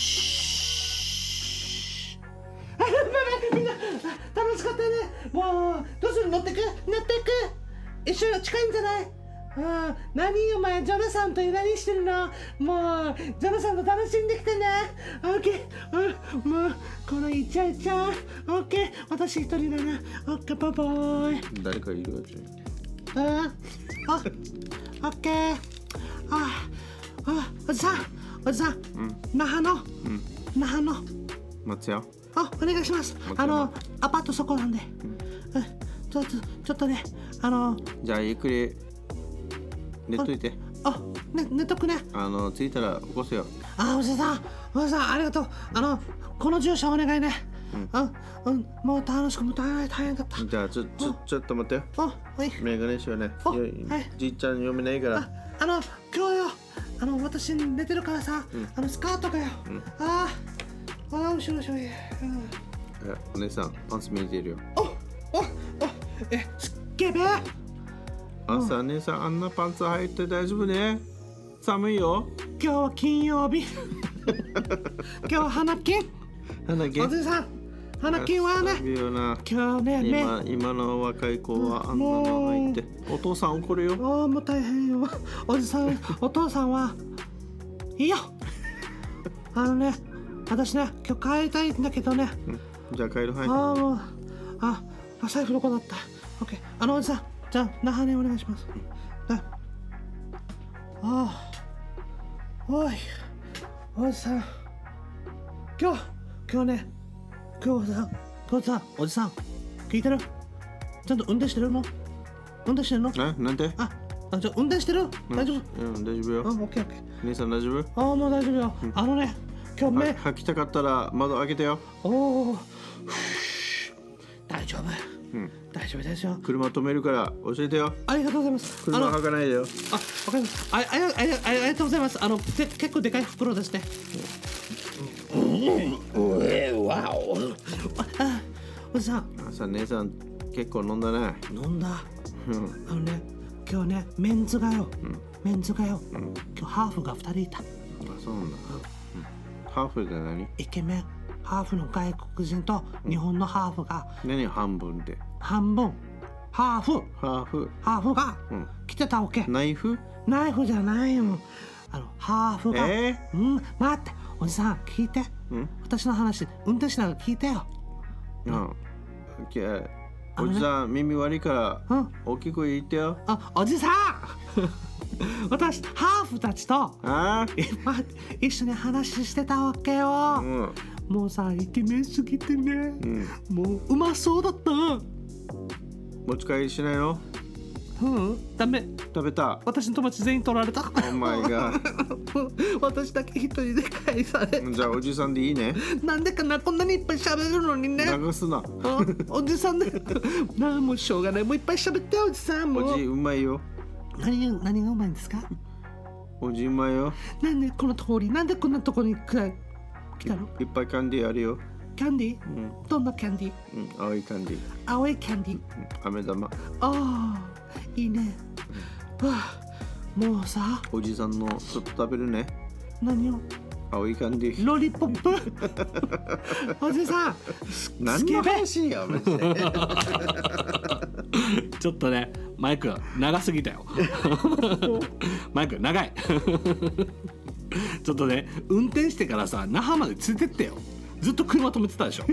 シーッあバイバイみんな楽しかったね。もうどうする乗ってく乗ってく一緒近いんじゃない？あ何お前ジョナサンと何してるの？もうジョナサンと楽しんできてね。オッケー、うん、もうこのイチャイチャオッケー私一人だな。オッケーバイバイ。 誰かいるよじゃあ。あオッケー。ああおじさんおじさん、うん、那覇の、うん、那覇の松屋あお願いします。あのアパートそこなんで、うん、ちょっとちょっとねあのじゃあゆっくり寝っといて。 あ、ね、寝とくね。 あの着いたら起こすよ。 あ、おじさん、おじさんありがとう。あのこの住所お願いね。うん、うん、もう楽しくも大変大変だった。 じゃあちょちょちょっと待ってよ。 あ、はい。 メガネしようね。はい。じいちゃん読めないから。 あ、あの今日よ、あの私寝てるからさ、うん、あのスカートがよ。うん、ああ、あ後ろ後ろ。うん、え、 お姉さんパンツ見えてるよ。 お、お、お、え、すっげべ。 朝姉さんあんなパンツ履いて大丈夫ね。寒いよ。 今日は金曜日。今日は花金。 花金。 おじさん、花金はね。今日ね、 今今の若い子はあんなの履いて、お父さん怒るよ。 ああもう大変よ。おじさん、お父さんはいいよ。あのね、私ね今日帰りたいんだけどね。 うん、じゃあ帰るはい。 ああもうあ財布どこだった。オッケー。あのおじさん。じゃあ、那覇にお願いします。ああ、おい、おじさん。今日、今日ね、今日さ、今日さ、おじさん、聞いてる？ちゃんと運転してるの？運転してるの？ え、なんで？ あ、あ、じゃあ運転してる？大丈夫？ うん、大丈夫よ。 あ、オッケーオッケー。 兄さん大丈夫？ あ、もう大丈夫よ。あのね、今日目。 吐きたかったら窓開けてよ。 おお、大丈夫。うん、大丈夫ですよ。 車止めるから教えてよ。 ありがとうございます。 車履かないでよ。 あ、わかります。あ、あ、あ、あ、ありがとうございます。あの、て結構でかい袋ですね。うん、え、わお。あ、おじさん。 朝姉さん結構飲んだね。 飲んだ。うん。あのね、今日ねメンズがよ。うん、メンズがよ。うん、今日ハーフが二人いた。あ、 そうなんだ。うん、ハーフで何？ イケメン。ハーフの外国人と日本のハーフが、 うん、何半分で半分ハーフハーフハーフが来てたわけ、 うん、ナイフナイフじゃないよ。あのハーフが、 えー、 うん待っておじさん聞いてん私の話運転しながら聞いてよ。 うん。おじさん耳悪いから大きく言ってよ。 あ、おじさん私ハーフたちとあ今一緒に話してたわけよ、うん、もうさイケメンすぎてね、うん、もううまそうだった。 持ち帰りしないの？ うん、ダメ。 食べた。 私の友達全員取られた。 お前が私だけ一人で返された。 じゃあおじさんでいいね。 なんでかな、こんなにいっぱい喋るのにね。 流すな。 おじさんでなあ、もうしょうがない。もういっぱい喋っておじさん。もうおじうまいよ。 何が何がうまいんですか？ おじうまいよ。 なんでこの通り、なんでこんなとこに来たの？ いっぱいキャンディーあるよ。 キャンディー、 うん、 どんなキャンディー、うん、青いキャンディー。 青いキャンディー、 うん、飴玉。 ああ、いいね、うん、はあ、もうさおじさんのちょっと食べるね。 何を？ 青いキャンディー。 ロリポップおじさん何の話やマジでちょっとねマイク長すぎたよマイク長いちょっとね運転してからさ那覇まで連れてってよ。ずっと車止めてたでしょ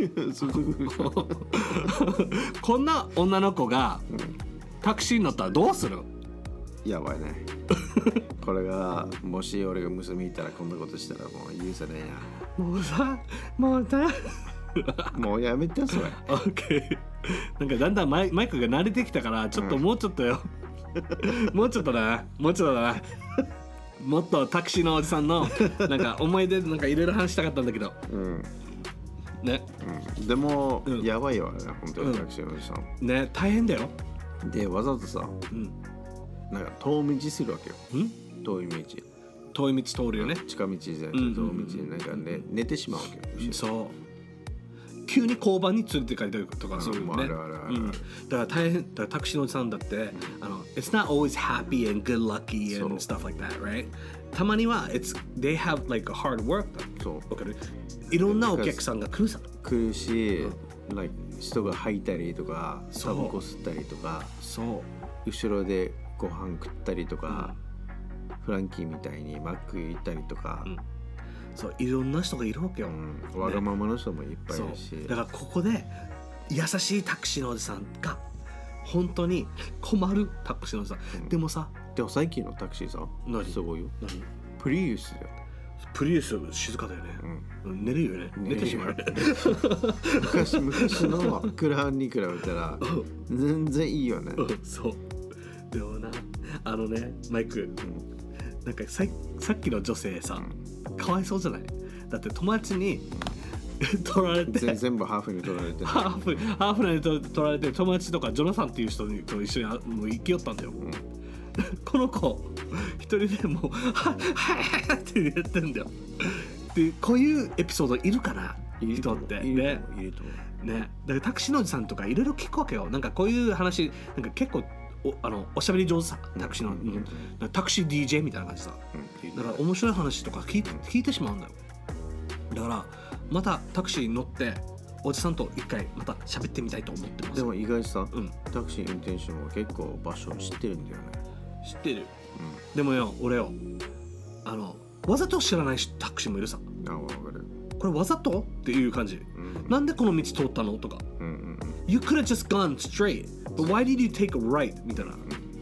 こんな女の子がタクシーに乗ったらどうする？ やばいねこれがもし俺が娘いたらこんなことしたらもう許せねえな。もうさもうさもうやめてそれオッケー。なんかだんだんマイ、マイクが慣れてきたからちょっともうちょっとよ、うん、もうちょっとだなもうちょっとだなもっとタクシーのおじさんのなんか思い出なんかいろいろ話したかったんだけど、うんね、 うん、でも、うん、やばいよね本当にタクシーのおじさん、 うん、ね大変だよ。 でわざとさ、うん、なんか遠道するわけよ。ん遠い道遠い道通るよね。 近道じゃなくて遠道になんか、ね、寝てしまうわけよ。 そう急に交番に連れて帰ったりとかするよね。だから大変だからタクシーのおじさんだって、うん、あの It's not always happy and good lucky and stuff like that, right? たまには it's they have like a hard work だ。そう。わかる？いろんなお客さんが来るさ。 来るし、うん、like 人が吐いたりとか、タバコ吸ったりとか、 そう。 後ろでご飯食ったりとか、うん、フランキーみたいにマック行ったりとか。うん、 そういろんな人がいるわけよ、うん、 わがままの人もいっぱいいるし、 ね、だからここで優しいタクシーのおじさんが本当に困るタクシーのおじさん、うん、でもさでも最近のタクシーさすごいよ。何？プリウスだよ。 プリウス静かだよね、うん、寝るよね。寝てしまう昔昔のクラウンに比べたら全然いいよね、 うん、そうでもなあのねマイク、うん、なんか さ, さっきの女性さ、うん、かわいそうじゃない？だって友達に取られて全部ハーフに取られてハーフハーフに取られて友達とかジョナサンっていう人と一緒にもう生きよったんだよ、うん、この子一人でもうははって言ってんだよ。でこういうエピソードいるかな人ってね。 いると思うね。だからタクシーのおじさんとかいろいろ聞くわけよ。なんかこういう話なんか結構おあのおしゃべり上手さタクシーの、うんうんうん、タクシー ディージェー みたいな感じさ、うん、だから面白い話とか聞いて、聞いてしまうんだよ。だからまたタクシーに乗っておじさんと一回また喋ってみたいと思ってます。 でも意外さ、うん、タクシー運転手も結構場所を知ってるんだよね。 知ってる、うん、でもよ俺よあのわざと知らないタクシーもいるさ。 あ、わかる。 これわざとっていう感じ、うん、なんでこの道通ったのとか、うんうんうん、You could have just gone straight but why did you take a right みたいな、うん、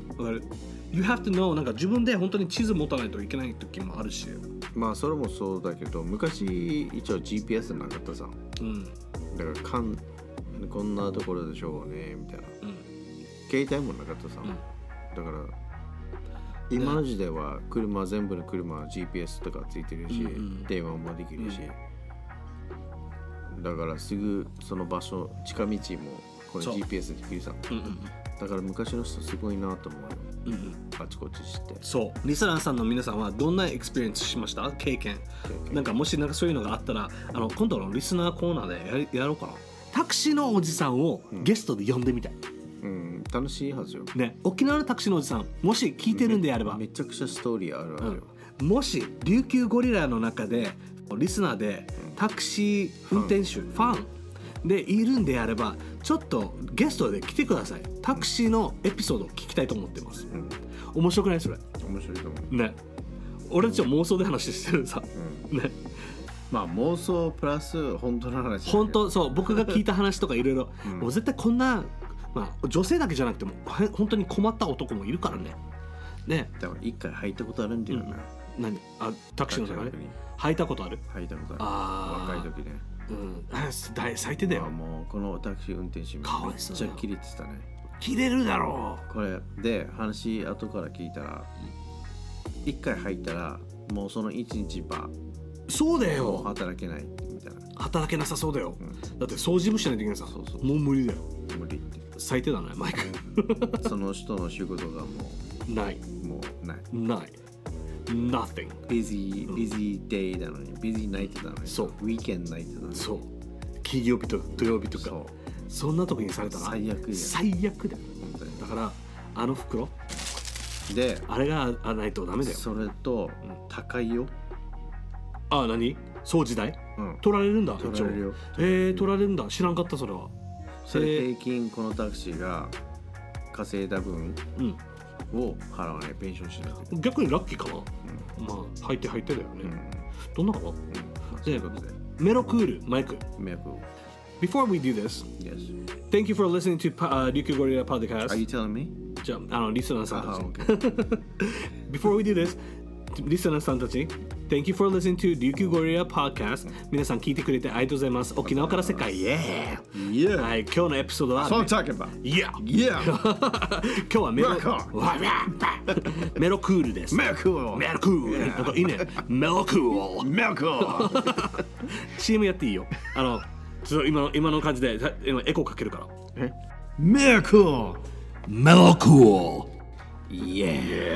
わかる。You have to know なんか自分で本当に地図持たないといけない時もあるし。 まあそれもそうだけど昔一応 ジーピーエス なかったさ、うん、だからかんこんなところでしょうねみたいな、うん、携帯もなかったさ、うん、だから今の時代は車全部の車は ジーピーエス とかついてるし、うんうん、電話もできるし、うん、だからすぐその場所近道もこれ ジーピーエス できるさ、うんうん、だから昔の人すごいなと思うよ、うんうん、あちこち知って。 そうリスナーさんの皆さんはどんなエクスペリエンスしました？経験なんかもしなんかそういうのがあったらあの今度のリスナーコーナーで や, やろうかな。タクシーのおじさんをゲストで呼んでみたい、うんうん、楽しいはずよ、 ね、沖縄のタクシーのおじさんもし聞いてるんであればめ, めちゃくちゃストーリーあるあるよ、 うん、もし琉球ゴリラの中でリスナーでタクシー運転手、うん、ファンでいるんであればちょっとゲストで来てください。タクシーのエピソードを聞きたいと思ってます、うん、面白くないそれ？ 面白いと思うね。俺たちは妄想で話してるさ、うん、ね。 まあ妄想プラス本当の話。 本当そう僕が聞いた話とかいろいろもう絶対こんな、まあ、女性だけじゃなくても本当に困った男もいるからね。ね。 だから一回入ったことあるんだよな。うん、 何あタクシーの中で入ったことある？ 入ったことある。 あ若い時ね。 うん、あ最低だよ。 もうこのタクシー運転手めっちゃキレてたね。 キレるだろう。これで話後から聞いたら一回入ったらもうその一日ばそうだよ働けないみたいな。 働けなさそうだよ、うん、だって掃除もしないといけないさ。 そうそうもう無理だよ。 無理って最低だねマイクその人の仕事がもうないもうないないNothing busy busy day なのに busy night なのにそう weekend night なのにそう金曜日と土曜日とか そ, そんな時にされたら最悪や最悪だよ本当に。 だからあの袋であれがないとダメだよ。 それと高いよ。 ああ何掃除代、うん、取られるんだ。 取られるよ。 えー、取られるんだ。知らんかったそれは。 それ平均このタクシーが稼いだ分を払わないペンションしない。 逆にラッキーかな、うん、まあ入って入ってだよね、うん、どんなかな、うんまあ、でメロクールマイクメロクール Before we do this Yes Thank you for listening to、uh, Ryukyu Gorilla Podcast Are you telling me? じゃあ、あのリスナーさんたち、okay. Before we do this リスナーさんたちThank you for listening to Ryukyu Gorilla Podcast、うん、皆さん聞いてくれてありがとうございます。沖縄から世界 Yeah! Yeah! はい、今日のエピソードは、 ね、So I'm talking about Yeah! Yeah! 今日はメロメロクールです。 メロクールメロクール、なんかいいね。メロクールメロクールシーエム やっていいよ。あのちょっと今の今の感じで今エコーかけるから。 えメロクールメロクールYeah.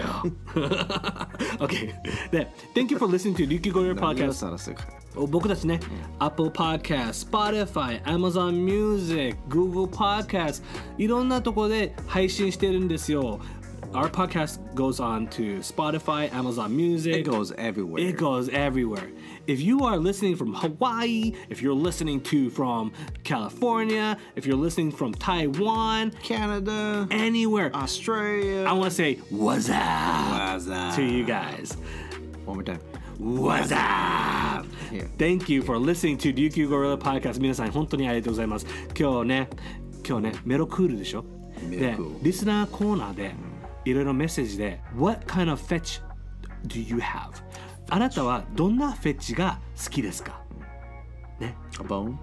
Okay. で、Thank you for listening to Ryukyu Gorilla Podcast. 僕たちね、うん、Apple Podcast, Spotify, Amazon Music, Google Podcast いろんなところで配信してるんですよ。Our podcast goes on to Spotify, Amazon Music. It goes everywhere. It goes everywhere. If you are listening from Hawaii, if you're listening to from California, if you're listening from Taiwan, Canada, anywhere, Australia, I want to say what's up, what's up to you guys. One more time. What's up? Yeah. Thank you for listening to Ryukyu Gorilla Podcast. 皆さん本当にありがとうございます。今日ね、今日ね、メロクールでしょ。で、リスナーコーナーでいろいろメッセージで What kind of fetch do you have? あなたはどんなフェッチが好きですかね。 A bone?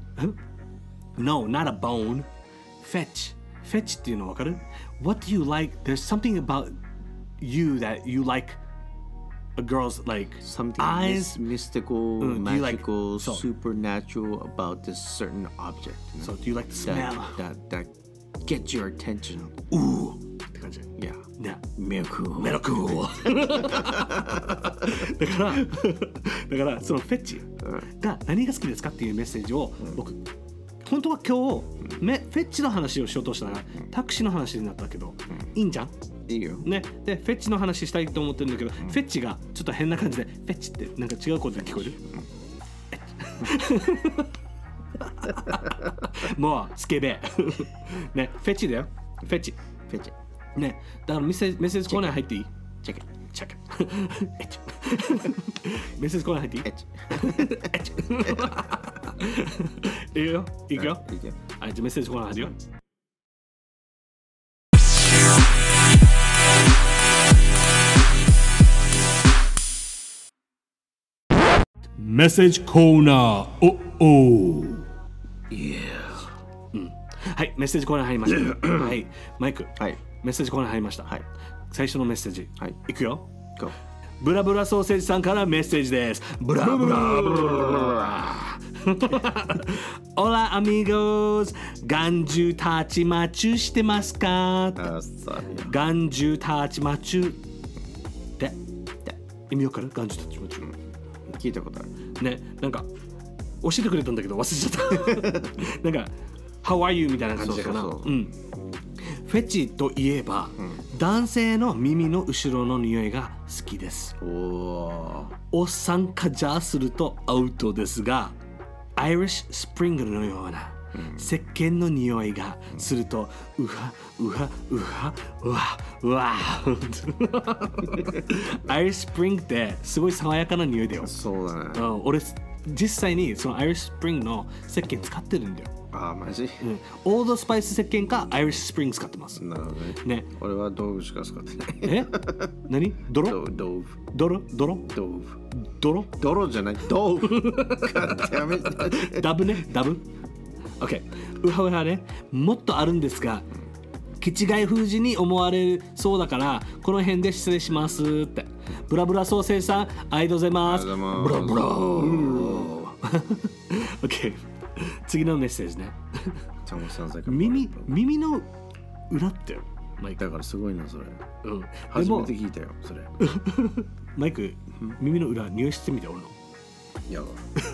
No, not a bone. Fetch. Fetch っていうの分かる What do you like? There's something about you that you like a girl's like something eyes. mystical, mm, magical, like, so, supernatural about this certain object. You know? So do you like the smell? That, that, that gets your attention. Ooh. って感じ。 Yeah. ね。 メロクール。 メロクール。だから、だからそのフェッチが何が好きですかっていうメッセージを僕、うん、本当は今日、めフェッチの話をしようとしたら、うん、タクシーの話になったけど、うん、いいんじゃん？ いいよ。 ね。で、フェッチの話したいと思ってるんだけど、うん、フェッチがちょっと変な感じで、フェッチってなんか違うことで聞こえる？うん、もうスケベ。ね、フェッチだよ。フェッチ。 フェッチ。 ね、だからメッセージ、メッセージコーナー入っていい？ チェック。 チェック。エッチ。メッセージコーナー入っていい？ エッチ。 エッチ。いくよ。いくよ。 いくよ。 はい、じゃあメッセージコーナー入るよ。メッセージコーナー。おお。 Yeah。 うん。はい、メッセージコーナー入りました。はい、マイク。 はい。 メッセージコーナー入りました。 はい。 最初のメッセージ。 はい。 いくよ。 Go。 ブラブラソーセージさんからメッセージです。ブラブラブラ。オラアミゴス。眼中たちまちゅしてますか？眼中たちまちゅ。で、意味わかる？眼中たちまちゅ。 聞いたことある。 ね、なんか教えてくれたんだけど忘れちゃった。なんか How are you みたいな感じかな。そうそうそう、うん。フェチといえば、うん、男性の耳の後ろの匂いが好きです。 お, おっさんかじゃするとアウトですが、アイリッシュスプリングルのような、うん、石鹸の匂いがすると、うん、うわうわうわうわうわアイリッシュスプリングってすごい爽やかな匂いだよ。 そうだね。 うん、俺実際にそのアイリッシュスプリングの石鹸使ってるんだよ。 ああマジ、 うん、オールドスパイス石鹸かアイリッシュスプリング使ってます。 なるほどね。 ね、 俺は道具しか使ってない。 え何泥道具泥泥道具泥泥じゃない道具ダブねダブ OK ウハウハね、もっとあるんですが気違い封じに思われそうだからこの辺で失礼しますって。ブラブラソーセーさんありがとうございます。ブラブラOK 次のメッセージね耳耳の裏ってマイクだからすごいなそれ、 うん、 初めて聞いたよそれマイク耳の裏匂いしてみて俺のいや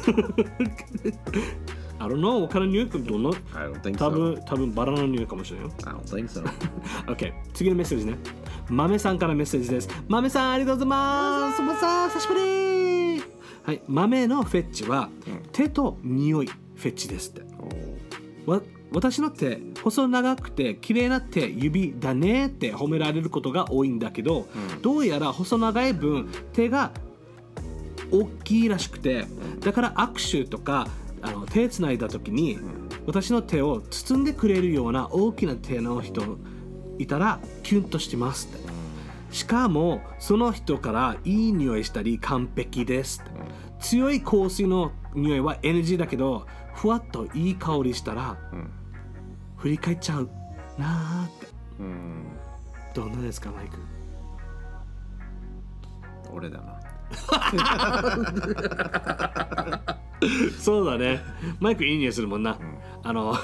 I don't know 他の匂いどんな I don't think so 多分多分バラの匂いかもしれないよ I don't think so OK 次のメッセージね豆さんからメッセージです。豆さんありがとうございます。豆さん久しぶり。はい、豆のフェッチは、うん、手と匂いフェッチですって。わ私の手細長くて綺麗な手指だねって褒められることが多いんだけど、うん、どうやら細長い分手が大きいらしくて、だから握手とかあの手つないだ時に、うん、私の手を包んでくれるような大きな手の人いたらキュンとしてますって。しかもその人からいい匂いしたり完璧ですって。強い香水の匂いは エヌジー だけどふわっといい香りしたら、うん、振り返っちゃうなーって、うん、どんなですかマイク。 俺だなそうだねマイクいい匂いするもんな、うん、あの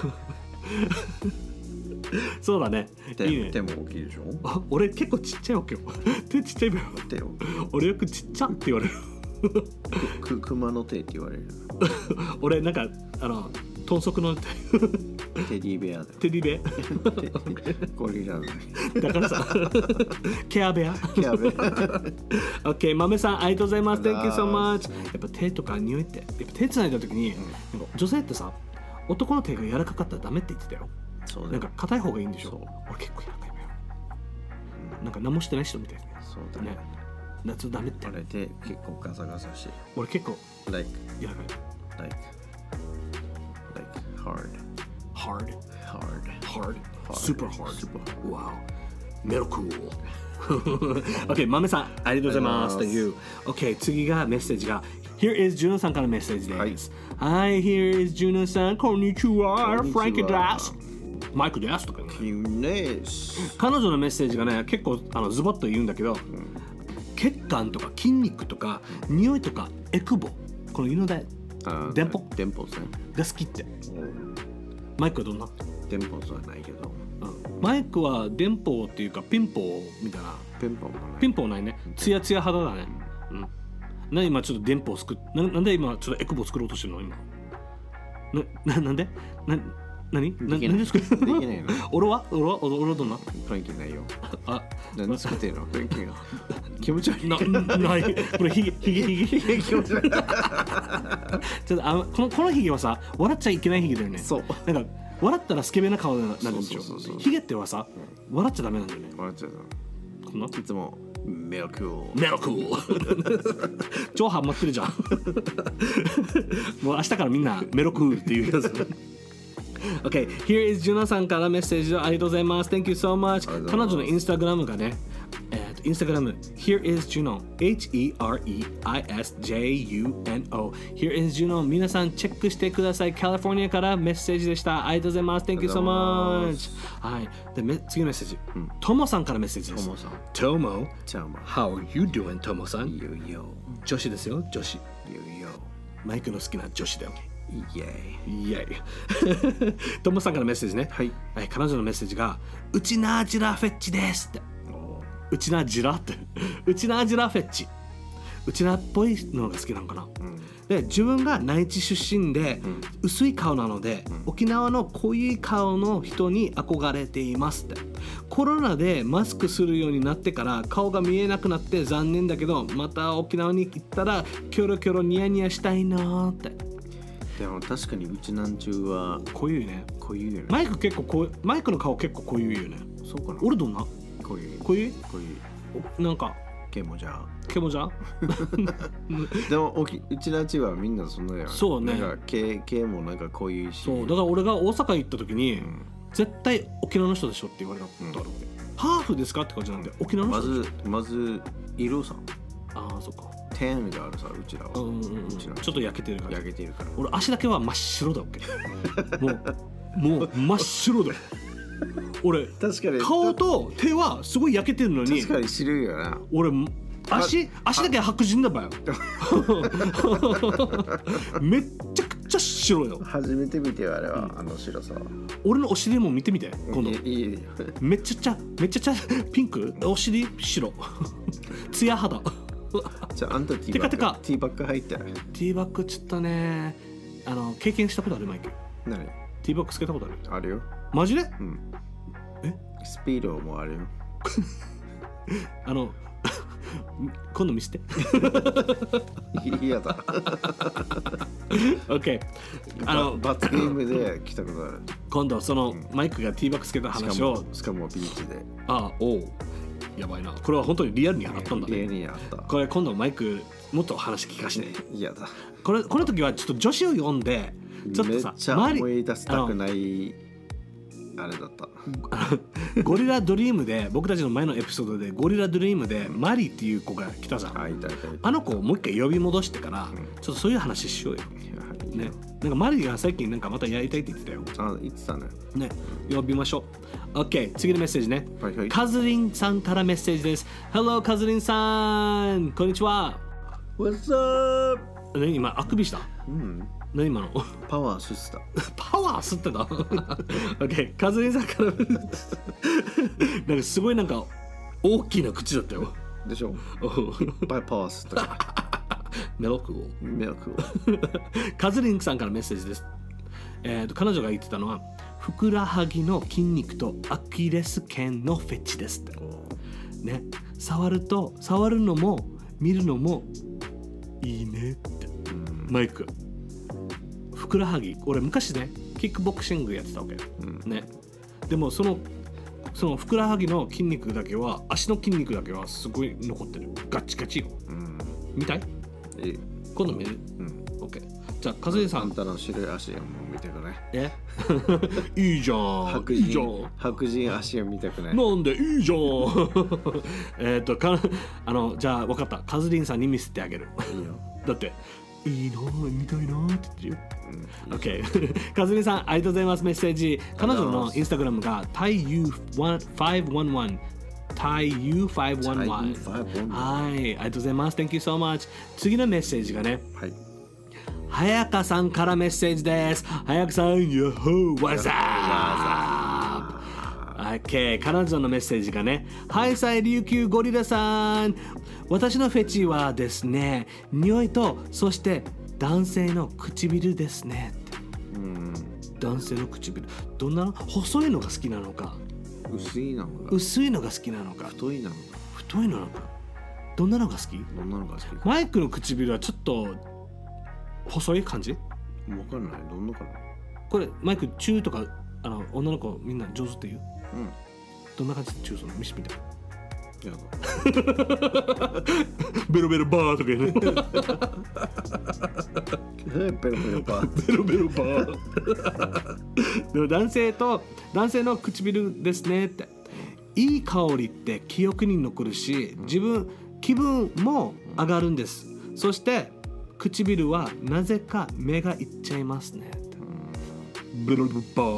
そうだね。 手いいね。 手も大きいでしょ。 あ、俺結構ちっちゃいわけよ。手ちっちゃいわよ。 手を。 俺よくちっちゃって言われる。 く熊の手って言われる。 俺なんかあの豚足の手。 テディベアだよ。 テディベア。 ゴリラだ。 だからさ、ケアベア。 ケアベア。 OK 豆さんありがとうございます。Thank you so much。やっぱ手とか匂いってやっぱ手つないだ時に、うん、なんか女性ってさ男の手が柔らかかったらダメって言ってたよ。そうなんか硬い方がいいんでしょ。俺結構柔らかいわよ、うん、なんか何もしてない人みたいですね。 そうだね。 夏ダメって。 俺手結構ガサガサして。 俺結構 like 柔らかい like like hard hard hard hard super hard super wow metal cool OK 豆さんありがとうございますという OK 次がメッセージがHere is Juno さんからメッセージです。はい、Here is Juno さん、こんにちは、フランキーです。マイクですとかね。彼女のメッセージがね、結構あのズバッと言うんだけど、うん、血管とか筋肉とか匂いとかエクボ、この犬で電波電波ですね。 が好きって。マイクはどんな？ 電波はないけど、 うん、マイクは電波っていうかピンポみたいな。 ピンポもない。 ピンポないね。ツヤツヤ肌だね。うん。な今ちょっと電波を作っ な, なんで今ちょっとエクボ作ろうとしてるの今 な, な, なんでな何な何で作るできないの俺は俺は俺はどんなフランキーないよ。 あ何作ってんのフランキーが気持ち悪いなないこれヒゲヒゲヒゲ気持ち悪いちょっとあこのこのヒゲはさ笑っちゃいけないヒゲだよね。 そうなんか笑ったらスケベな顔になるんでしょ。ヒゲってはさ笑っちゃダメなんだよね。 笑っちゃうこんないつもメロクールメロクール超ハマってるじゃんもう明日からみんなメロクールっていうやつOK here is Juno さんからメッセージをありがとうございます Thank you so much 彼女のインスタグラムがねえっとインスタグラム Here is Juno H E R E I S J U N O Here is Juno 皆さんチェックしてください。カリフォルニアからメッセージでした。ありがとうございます Thank you so much はいでめ次のメッセージ、うん、トモさんからメッセージです。 トモさんトモ How are you doing トモさん Yo yo 女子ですよ女子 Yo yo マイクの好きな女子だよ。 イエイイエイトモさんからメッセージね。 はい、 はい、彼女のメッセージがうちなジラフェッチですってうちなジラってうちなジラフェッチうちなっぽいのが好きなのかな、うん、で自分が内地出身で、うん、薄い顔なので、うん、沖縄の濃い顔の人に憧れていますって。コロナでマスクするようになってから顔が見えなくなって残念だけどまた沖縄に行ったらキョロキョロニヤニヤしたいなって。 でも確かにうちなんちゅうは濃ゆいね。 濃ゆいよね。 マイク結構こマイクの顔結構濃ゆいよね。 そうかな。 俺どんな濃ゆい濃ゆい濃ゆいなんかケモじゃケモじゃんでもおきうちらちはみんなそんなやん。 そうね。 なんかケケもなんかこういうし。 そうだから俺が大阪行った時に、うん、絶対沖縄の人でしょって言われたことあるわけ、うん、ハーフですかって感じなんで沖縄の人でしょ。 まずまず色さ。 ああそっか。 テンがあるさうちらは。 うんうんうん。うちちょっと焼けてるから。 焼けてるから。 俺足だけは真っ白だわけ。もうもう真っ白だよ。俺確かに顔と手はすごい焼けてるのに。 確かに白いよな。 俺足足だけ白人だばよ。めっちゃくちゃ白いよ。 初めて見てよあれは、うん、あの白さ。 俺のお尻も見てみて今度。 いいいいめっちゃちゃめっちゃちゃピンクお尻白ツヤ肌。 じゃああんたティーバッグティーバッグ入ったら。ティーバッグちょっとねあの経験したことあるマイク。 何？ ティーバッグつけたことある？ あるよ。 マジで？ うん。 え？ スピードもあるよ。 あの今度見せて。 嫌だ。 OK。あの罰ゲームで来たことある。 今度その、うん、マイクがティーバッグつけた話を。 しかもビーチで。 ああおう。やばいな。これは本当にリアルにあったんだね。 リアルにあった。 これ今度マイクもっと話聞かして。 嫌だ。 これこの時はちょっと女子を呼んでちょっとさめっちゃ思い出したくないあれだった。 ゴリラドリームで僕たちの前のエピソードでゴリラドリームでマリっていう子が来たじゃん。 あ、いたいたいた。 あの子をもう一回呼び戻してから、うん、ちょっとそういう話しようよ。ね、なんかマリが最近なんかまたやりたいって言ってたよ。 あ、言ってたね。 ね、呼びましょう。OK、次のメッセージね。 はいはい、 カズリンさんからメッセージです。Hello カズリンさん、こんにちは。 What's up？ 何今あくびした？ うん。 何今の？ パワー吸ってた。 パワー吸ってた？OK、カズリンさんからなんかすごいなんか大きな口だったよ。 でしょ？いっぱいパワー吸ったから。 メロクをメロクをカズリンさんからメッセージです。えーと彼女が言ってたのはふくらはぎの筋肉とアキレス腱のフェチですってね。触ると触るのも見るのもいいねって。マイクふくらはぎ俺昔ねキックボクシングやってたわけ、うん、ね。でもそのそのふくらはぎの筋肉だけは足の筋肉だけはすごい残ってる。ガッチガチよ、うん、見たい？ いい今度見る？うん。OK。じゃあカズリンさん。 あんたの白い足を見てくね。 え？いいじゃん。 白人。いいじゃん。白人足を見てくね。 なんでいいじゃん。えっとかあのじゃあ分かった。カズリンさんに見せてあげる。 いいよ。 だっていいな見たいなって言ってるよ。うん、OK。カズリンさんありがとうございます。メッセージ。彼女のインスタグラムが タイユーファイブワンワン。タイユーファイブワンワン。はい、ありがとうございます。Thank you so much。次のメッセージがね、 はい。 早川さんからメッセージです。早川さん、Yo-ho! What's up? OK、彼女のメッセージがね、はいさい琉球ゴリラさん。私のフェチはですね、匂いと、そして男性の唇ですね。うん。男性の唇。どんなの？細いのが好きなのか。 薄いのが薄いのが好きなのか太いのが太いのかどんなのが好き？ どんなのが好きか。 マイクの唇はちょっと細い感じ？ 分かんない。どんなかな。 これマイクチューとかあの女の子みんな上手って言う？うん。どんな感じでチューするの？見せてみて。 やだ。 ベロベロバーとか言うね。 ベロベロバー。 ベロベロバー。でも男性と男性の唇ですねって。いい香りって記憶に残るし、自分気分も上がるんです。そして唇はなぜか目がいっちゃいますねって。ベロベロバ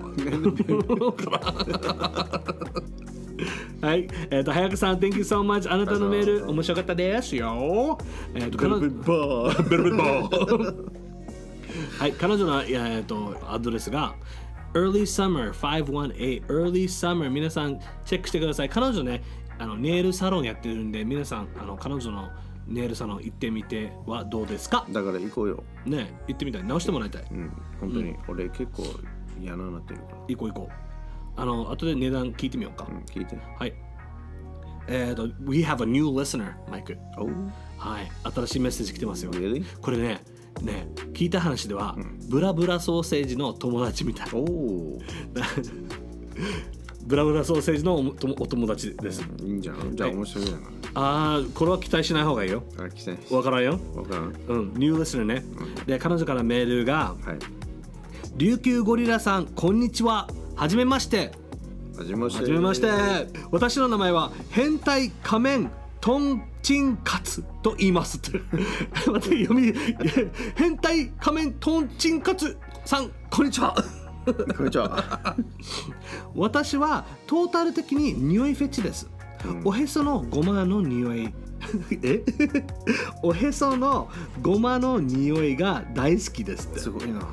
ー。はい、えっ、ー、と早川さん Thank you so much。 あなたのメール面白かったですよ。えっ、ー、とベロベロバーベロベロバー。はい、彼女の、えー、とアドレスが Early Summer ごひゃくじゅうはち Early Summer。 皆さんチェックしてください。彼女ねあのネイルサロンやってるんで、皆さんあの彼女のネイルサロン行ってみてはどうですか？ だから行こうよ。 ね、行ってみたい。直してもらいたい。うん、 本当に、うん、俺結構嫌ななってるから。 行こう行こう。あの後で値段聞いてみようか。 うん、聞いて。 はい。えっ、ー、と We have a new listener マイク。 Oh. はい。新しいメッセージ来てますよ。 Really? これねね聞いた話では、うん、ブラブラソーセージの友達みたい。 Oh. ブラブラソーセージのおとお友達です。 いいんじゃん。じゃあ面白いな。 ああ、これは期待しない方がいいよ。 あ、期待しわからんよ。 わからん。 うん、ニューリスナーね。で、彼女からメールが、 はい。 琉球ゴリラさん、こんにちは。はじめまして。 はじめまして。 はじめまして。私の名前は変態仮面トンチンカツと言いますって待って読み変態仮面トンチンカツさん、こんにちは。 こんにちは。 私はトータル的に匂いフェチです、うん、おへそのゴマの匂いえおへそのゴマの匂いが大好きですって。 すごいな。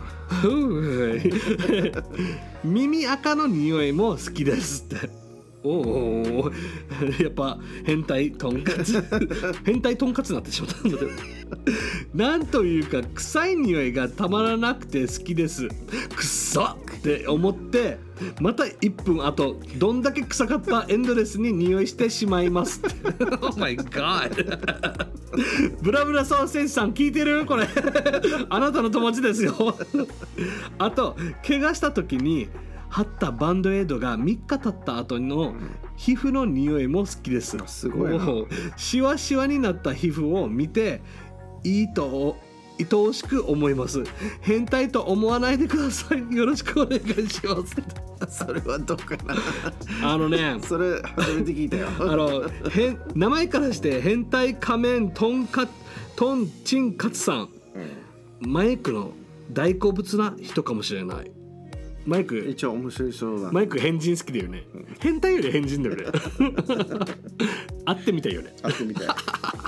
耳垢の匂いも好きですって。おお、やっぱ変態とんかつ変態とんかつになってしまったんだけどなんというか臭い匂いがたまらなくて好きです。くっさって思ってまたいっぷんあとどんだけ臭かったエンドレスに匂いしてしまいますってOh my god ブラブラソーセージさん聞いてるこれあなたの友達ですよあと怪我した時に貼ったバンドエイドがみっか経った後の皮膚の匂いも好きです。 すごいな。 シワシワになった皮膚を見ていいと愛おしく思います。変態と思わないでください。よろしくお願いしますそれはどうかな。 あのね、 それ初めて聞いたよ。 あのへ名前からして変態仮面トンカトンチンカツさん、うん、マイクの大好物な人かもしれない。マイク一応面白いそうだ。 マイク変人好きだよね、うん、変態より変人だよね会ってみたいよね。 会ってみたい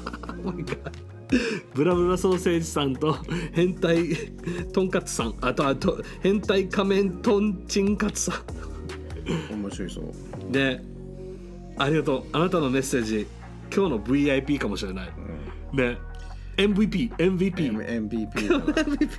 ブラブラソーセージさんと変態トンカツさん、あとあと変態仮面トンチンカツさん面白いそうで、ありがとう。あなたのメッセージ今日の ブイアイピー かもしれない、うん、で エムブイピー エムブイピーエムブイピー だなエムブイ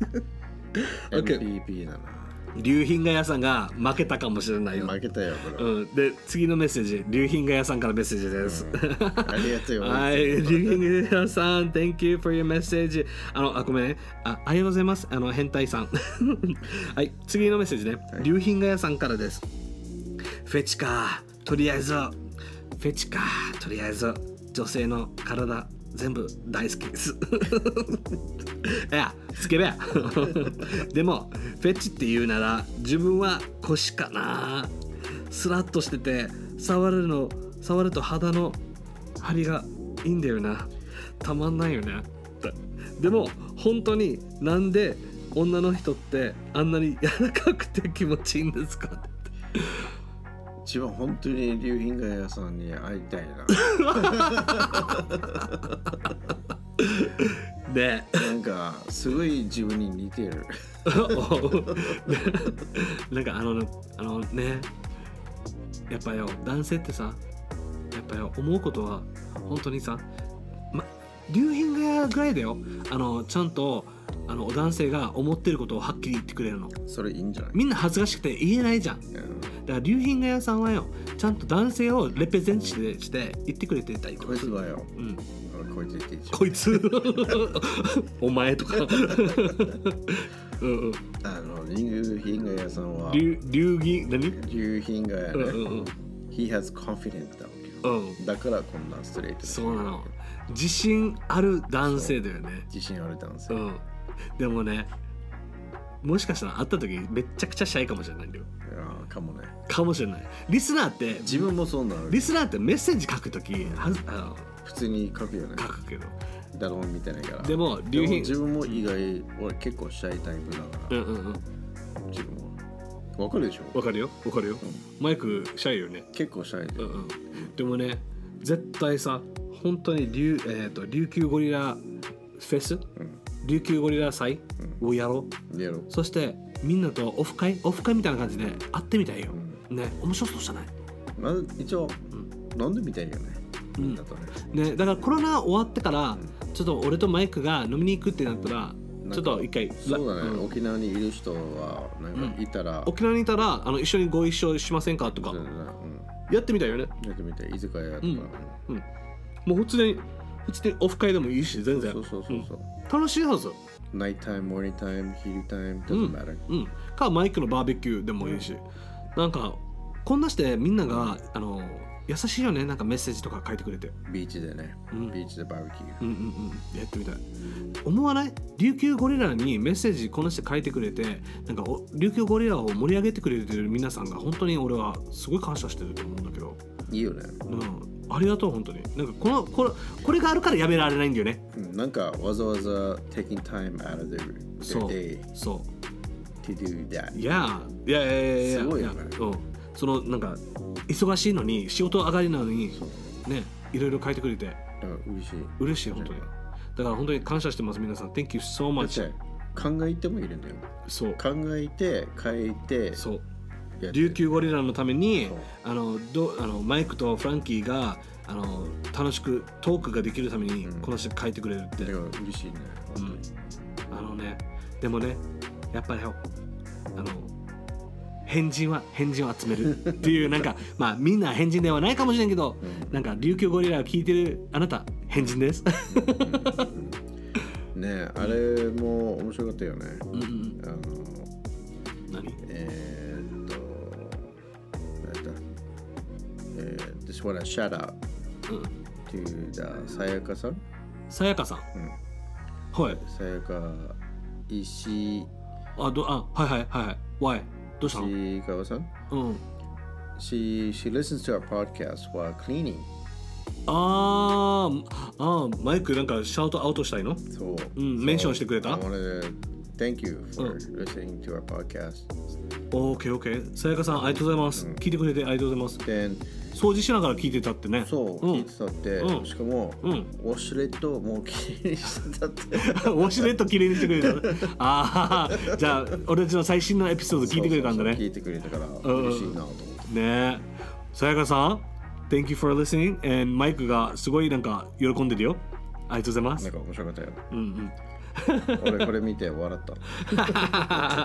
ピー だな。 龍品が屋さんが負けたかもしれないよ。 負けたよこれ、 うん、で次のメッセージ、龍品が屋さんからメッセージです、うん、 ありがとうよはい、龍品が屋さん Thank you for your message。 あのあごめんね、あありがとうございます。あの変態さんはい次のメッセージね、はい、龍品が屋さんからです。フェチか、とりあえずフェチか、とりあえず女性の体全部大好きですいやスケベやでもフェチって言うなら自分は腰かな。スラッとしてて触るの触ると肌の張りがいいんだよな。たまんないよね。でも本当になんで女の人ってあんなに柔らかくて気持ちいいんですかって。 一番本当に龍品が屋さんに会いたいなでなんかすごい自分に似てるなんかあのあのね、やっぱよ男性ってさ、やっぱよ思うことは本当にさ、ま、龍品が屋ぐらいだよ。あのちゃんとあの男性が思ってることをはっきり言ってくれるの。 それいいんじゃない。 みんな恥ずかしくて言えないじゃん、うん、だから龍品が屋さんはよちゃんと男性をレペゼンしてして言ってくれてたりとか。 こいつはよ、 うん、 こいつ言っていいこいつお前とかうんうん、 あの龍品が屋さんは龍龍銀何龍品が屋ね、うんうんうん、He has confidenceだ、 うん、 だからこんなストレート。 そうなの、自信ある男性だよね。 自信ある男性、うん、 でもね、もしかしたら会った時めっちゃくちゃシャイかもしれないんだよ。 いやかもね。 かもしれない。リスナーって自分もそうなの。 リスナーってメッセージ書く時はあの普通に書くよね。 書くけど誰も見てないから。 でも龍品自分も意外俺結構シャイタイプだから、うんうんうん、自分もわかるでしょ。 わかるよわかるよ、うん、マイクシャイよね。 結構シャイで、うんうん、 でもね絶対さ本当に琉、えーと、琉球ゴリラフェス、うん、琉球ゴリラ祭をやろう、うん、やろう。そしてみんなとオフ会オフ会みたいな感じで会ってみたいよ、うん、ね。面白そうじゃない。 まず一応、うん、飲んでみたいよね、みんなとね、 うん、ね。だからコロナ終わってから、うん、ちょっと俺とマイクが飲みに行くってなったらちょっと一回。 そうだね、うん、沖縄にいる人はなんかいたら、 うん、沖縄にいたらあの一緒にご一緒しませんかとか、うん、やってみたいよね。 やってみたい。居酒屋とか、うんうん、もう普通に普通にオフ会でもいいし全然。 そうそうそうそう、うん、 楽しいはず。 ナイトタイム、モーニングタイム、ヒルタイム doesn't matter、 うんうん、かマイクのバーベキューでもいいし、うん、なんかこんなしてみんながあの優しいよね。なんかメッセージとか書いてくれて。 ビーチでね。 うん、 ビーチでバーベキュー。 うんうんうん。やってみたい。思わない？琉球ゴリラにメッセージこの人書いてくれて、なんか琉球ゴリラを盛り上げてくれてる皆さんが本当に俺はすごい感謝してると思うんだけど。 いいよね。 うん。ありがとう本当に。なんかこのこれこれがあるからやめられないんだよね。 うん、なんかわざわざ taking time out of their, their day そう。 to do that。 いやいやいやいや。 すごいよね。 うん。そのなんか忙しいのに仕事上がりなのにね、いろいろ書いてくれて。 嬉しい。 嬉しい本当に。だから本当に感謝してます皆さん。Thank you so much。 考えてもいるんだよ。 そう。 考えて書いて。 そう。琉球ゴリラのためにあのどあのマイクとフランキーがあの楽しくトークができるためにこの人書いてくれるって。 だから嬉しいね。 うん。あのね、でもね、やっぱりあの変人は変人を集めるっていうなんかまあみんな変人ではないかもしれんけど、うん、なんか琉球ゴリラを聞いてるあなた変人です。 ねえ、あれも面白かったよね。 うんうん、 あの何？ えー、っと、えー、just wanna shout out、うん、to the さやかさん。 さやかさん。うん、はい。 さやか石。 あどあはいはいはいはい。Why？どうしたの？ 石川さん。うん。She she listens to our podcast while cleaning。 あーあーマイクなんかシャウトアウトしたいの？ そう。 うん、メンションしてくれた？ I wanted to thank you for、うん、listening to our podcast。 オーケーオーケー。さやかさんありがとうございます。うん、聞いてくれてありがとうございます。 Then、 掃除しながら聞いてたってね。 そう、うん、聞いてたって、うん、しかも、うん、ウォシュレットもうきれいにしてたって。ウォシュレットきれいにしてくれた。ああ、じゃあ俺たちの最新のエピソード聞いてくれたんだね。 そうそうそう聞いてくれたから嬉しいなと思って。 ねえ。さやかさん Thank you for listening and マイクがすごいなんか喜んでるよ。ありがとうございます。 なんか面白かったよ。 うんうん。 俺これ見て笑った。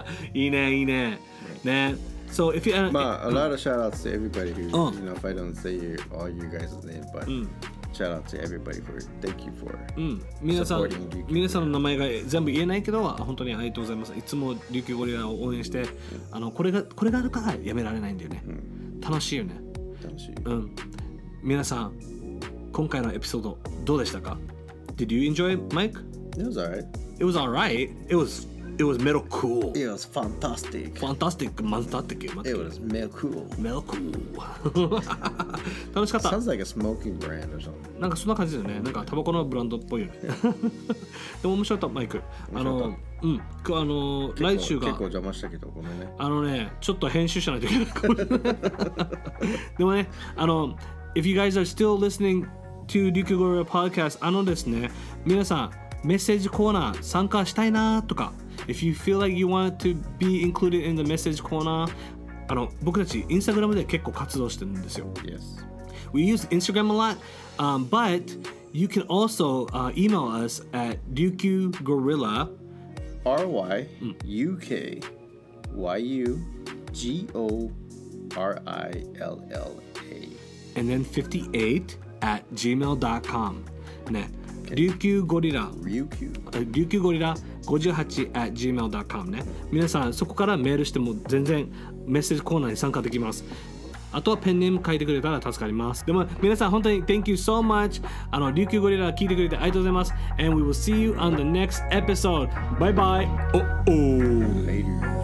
いいねいいね。ね。So if you まあ a lot of shout outs to everybody who、oh. you know if I don't say all you guys' name but、うん、shout out to everybody for thank you for、うん、 皆さん皆さんの名前が全部言えないけど本当にありがとうございます。いつも琉球ゴリラを応援して、うん、あのこれがこれがあるからやめられないんだよね。うん、楽しいよね。 楽しい。 うん。皆さん今回のエピソードどうでしたか？ Did you enjoy it, Mike? It was alright. It was alright. It was It was metal cool. It was fantastic. Fantastic, fantastic. It was metal cool. Metal cool. 楽しかった。 Sounds like a smoking brand or something. なんかそんな感じだよね。なんかタバコのブランドっぽいよね。でも面白かったマイク。あの、うん、あの来週が結構邪魔したけどごめんね。 あのね、ちょっと編集しないといけないかもしれない。でもね、あの If you guys are still listening to Ryukyu Gorilla Podcast、あのですね、皆さんメッセージコーナー参加したいなとか。If you feel like you want to be included in the message corner あの僕たちインスタグラムで結構活動してるんですよ。 Yes. We use Instagram a lot、um, but you can also、uh, email us at ryukyugorilla R Y U K Y U G O R I L L A and then fifty-eight at gmail dot com ね。琉球ゴリラ琉球ゴリラごじゅうはち at gmail dot com ね。皆さんそこからメールしても全然メッセージコーナーに参加できます。あとはペンネーム書いてくれたら助かります。でも皆さん本当に Thank you so much。 あの琉球ゴリラ聞いてくれてありがとうございます。 And we will see you on the next episode. Bye bye. Oh oh. Later.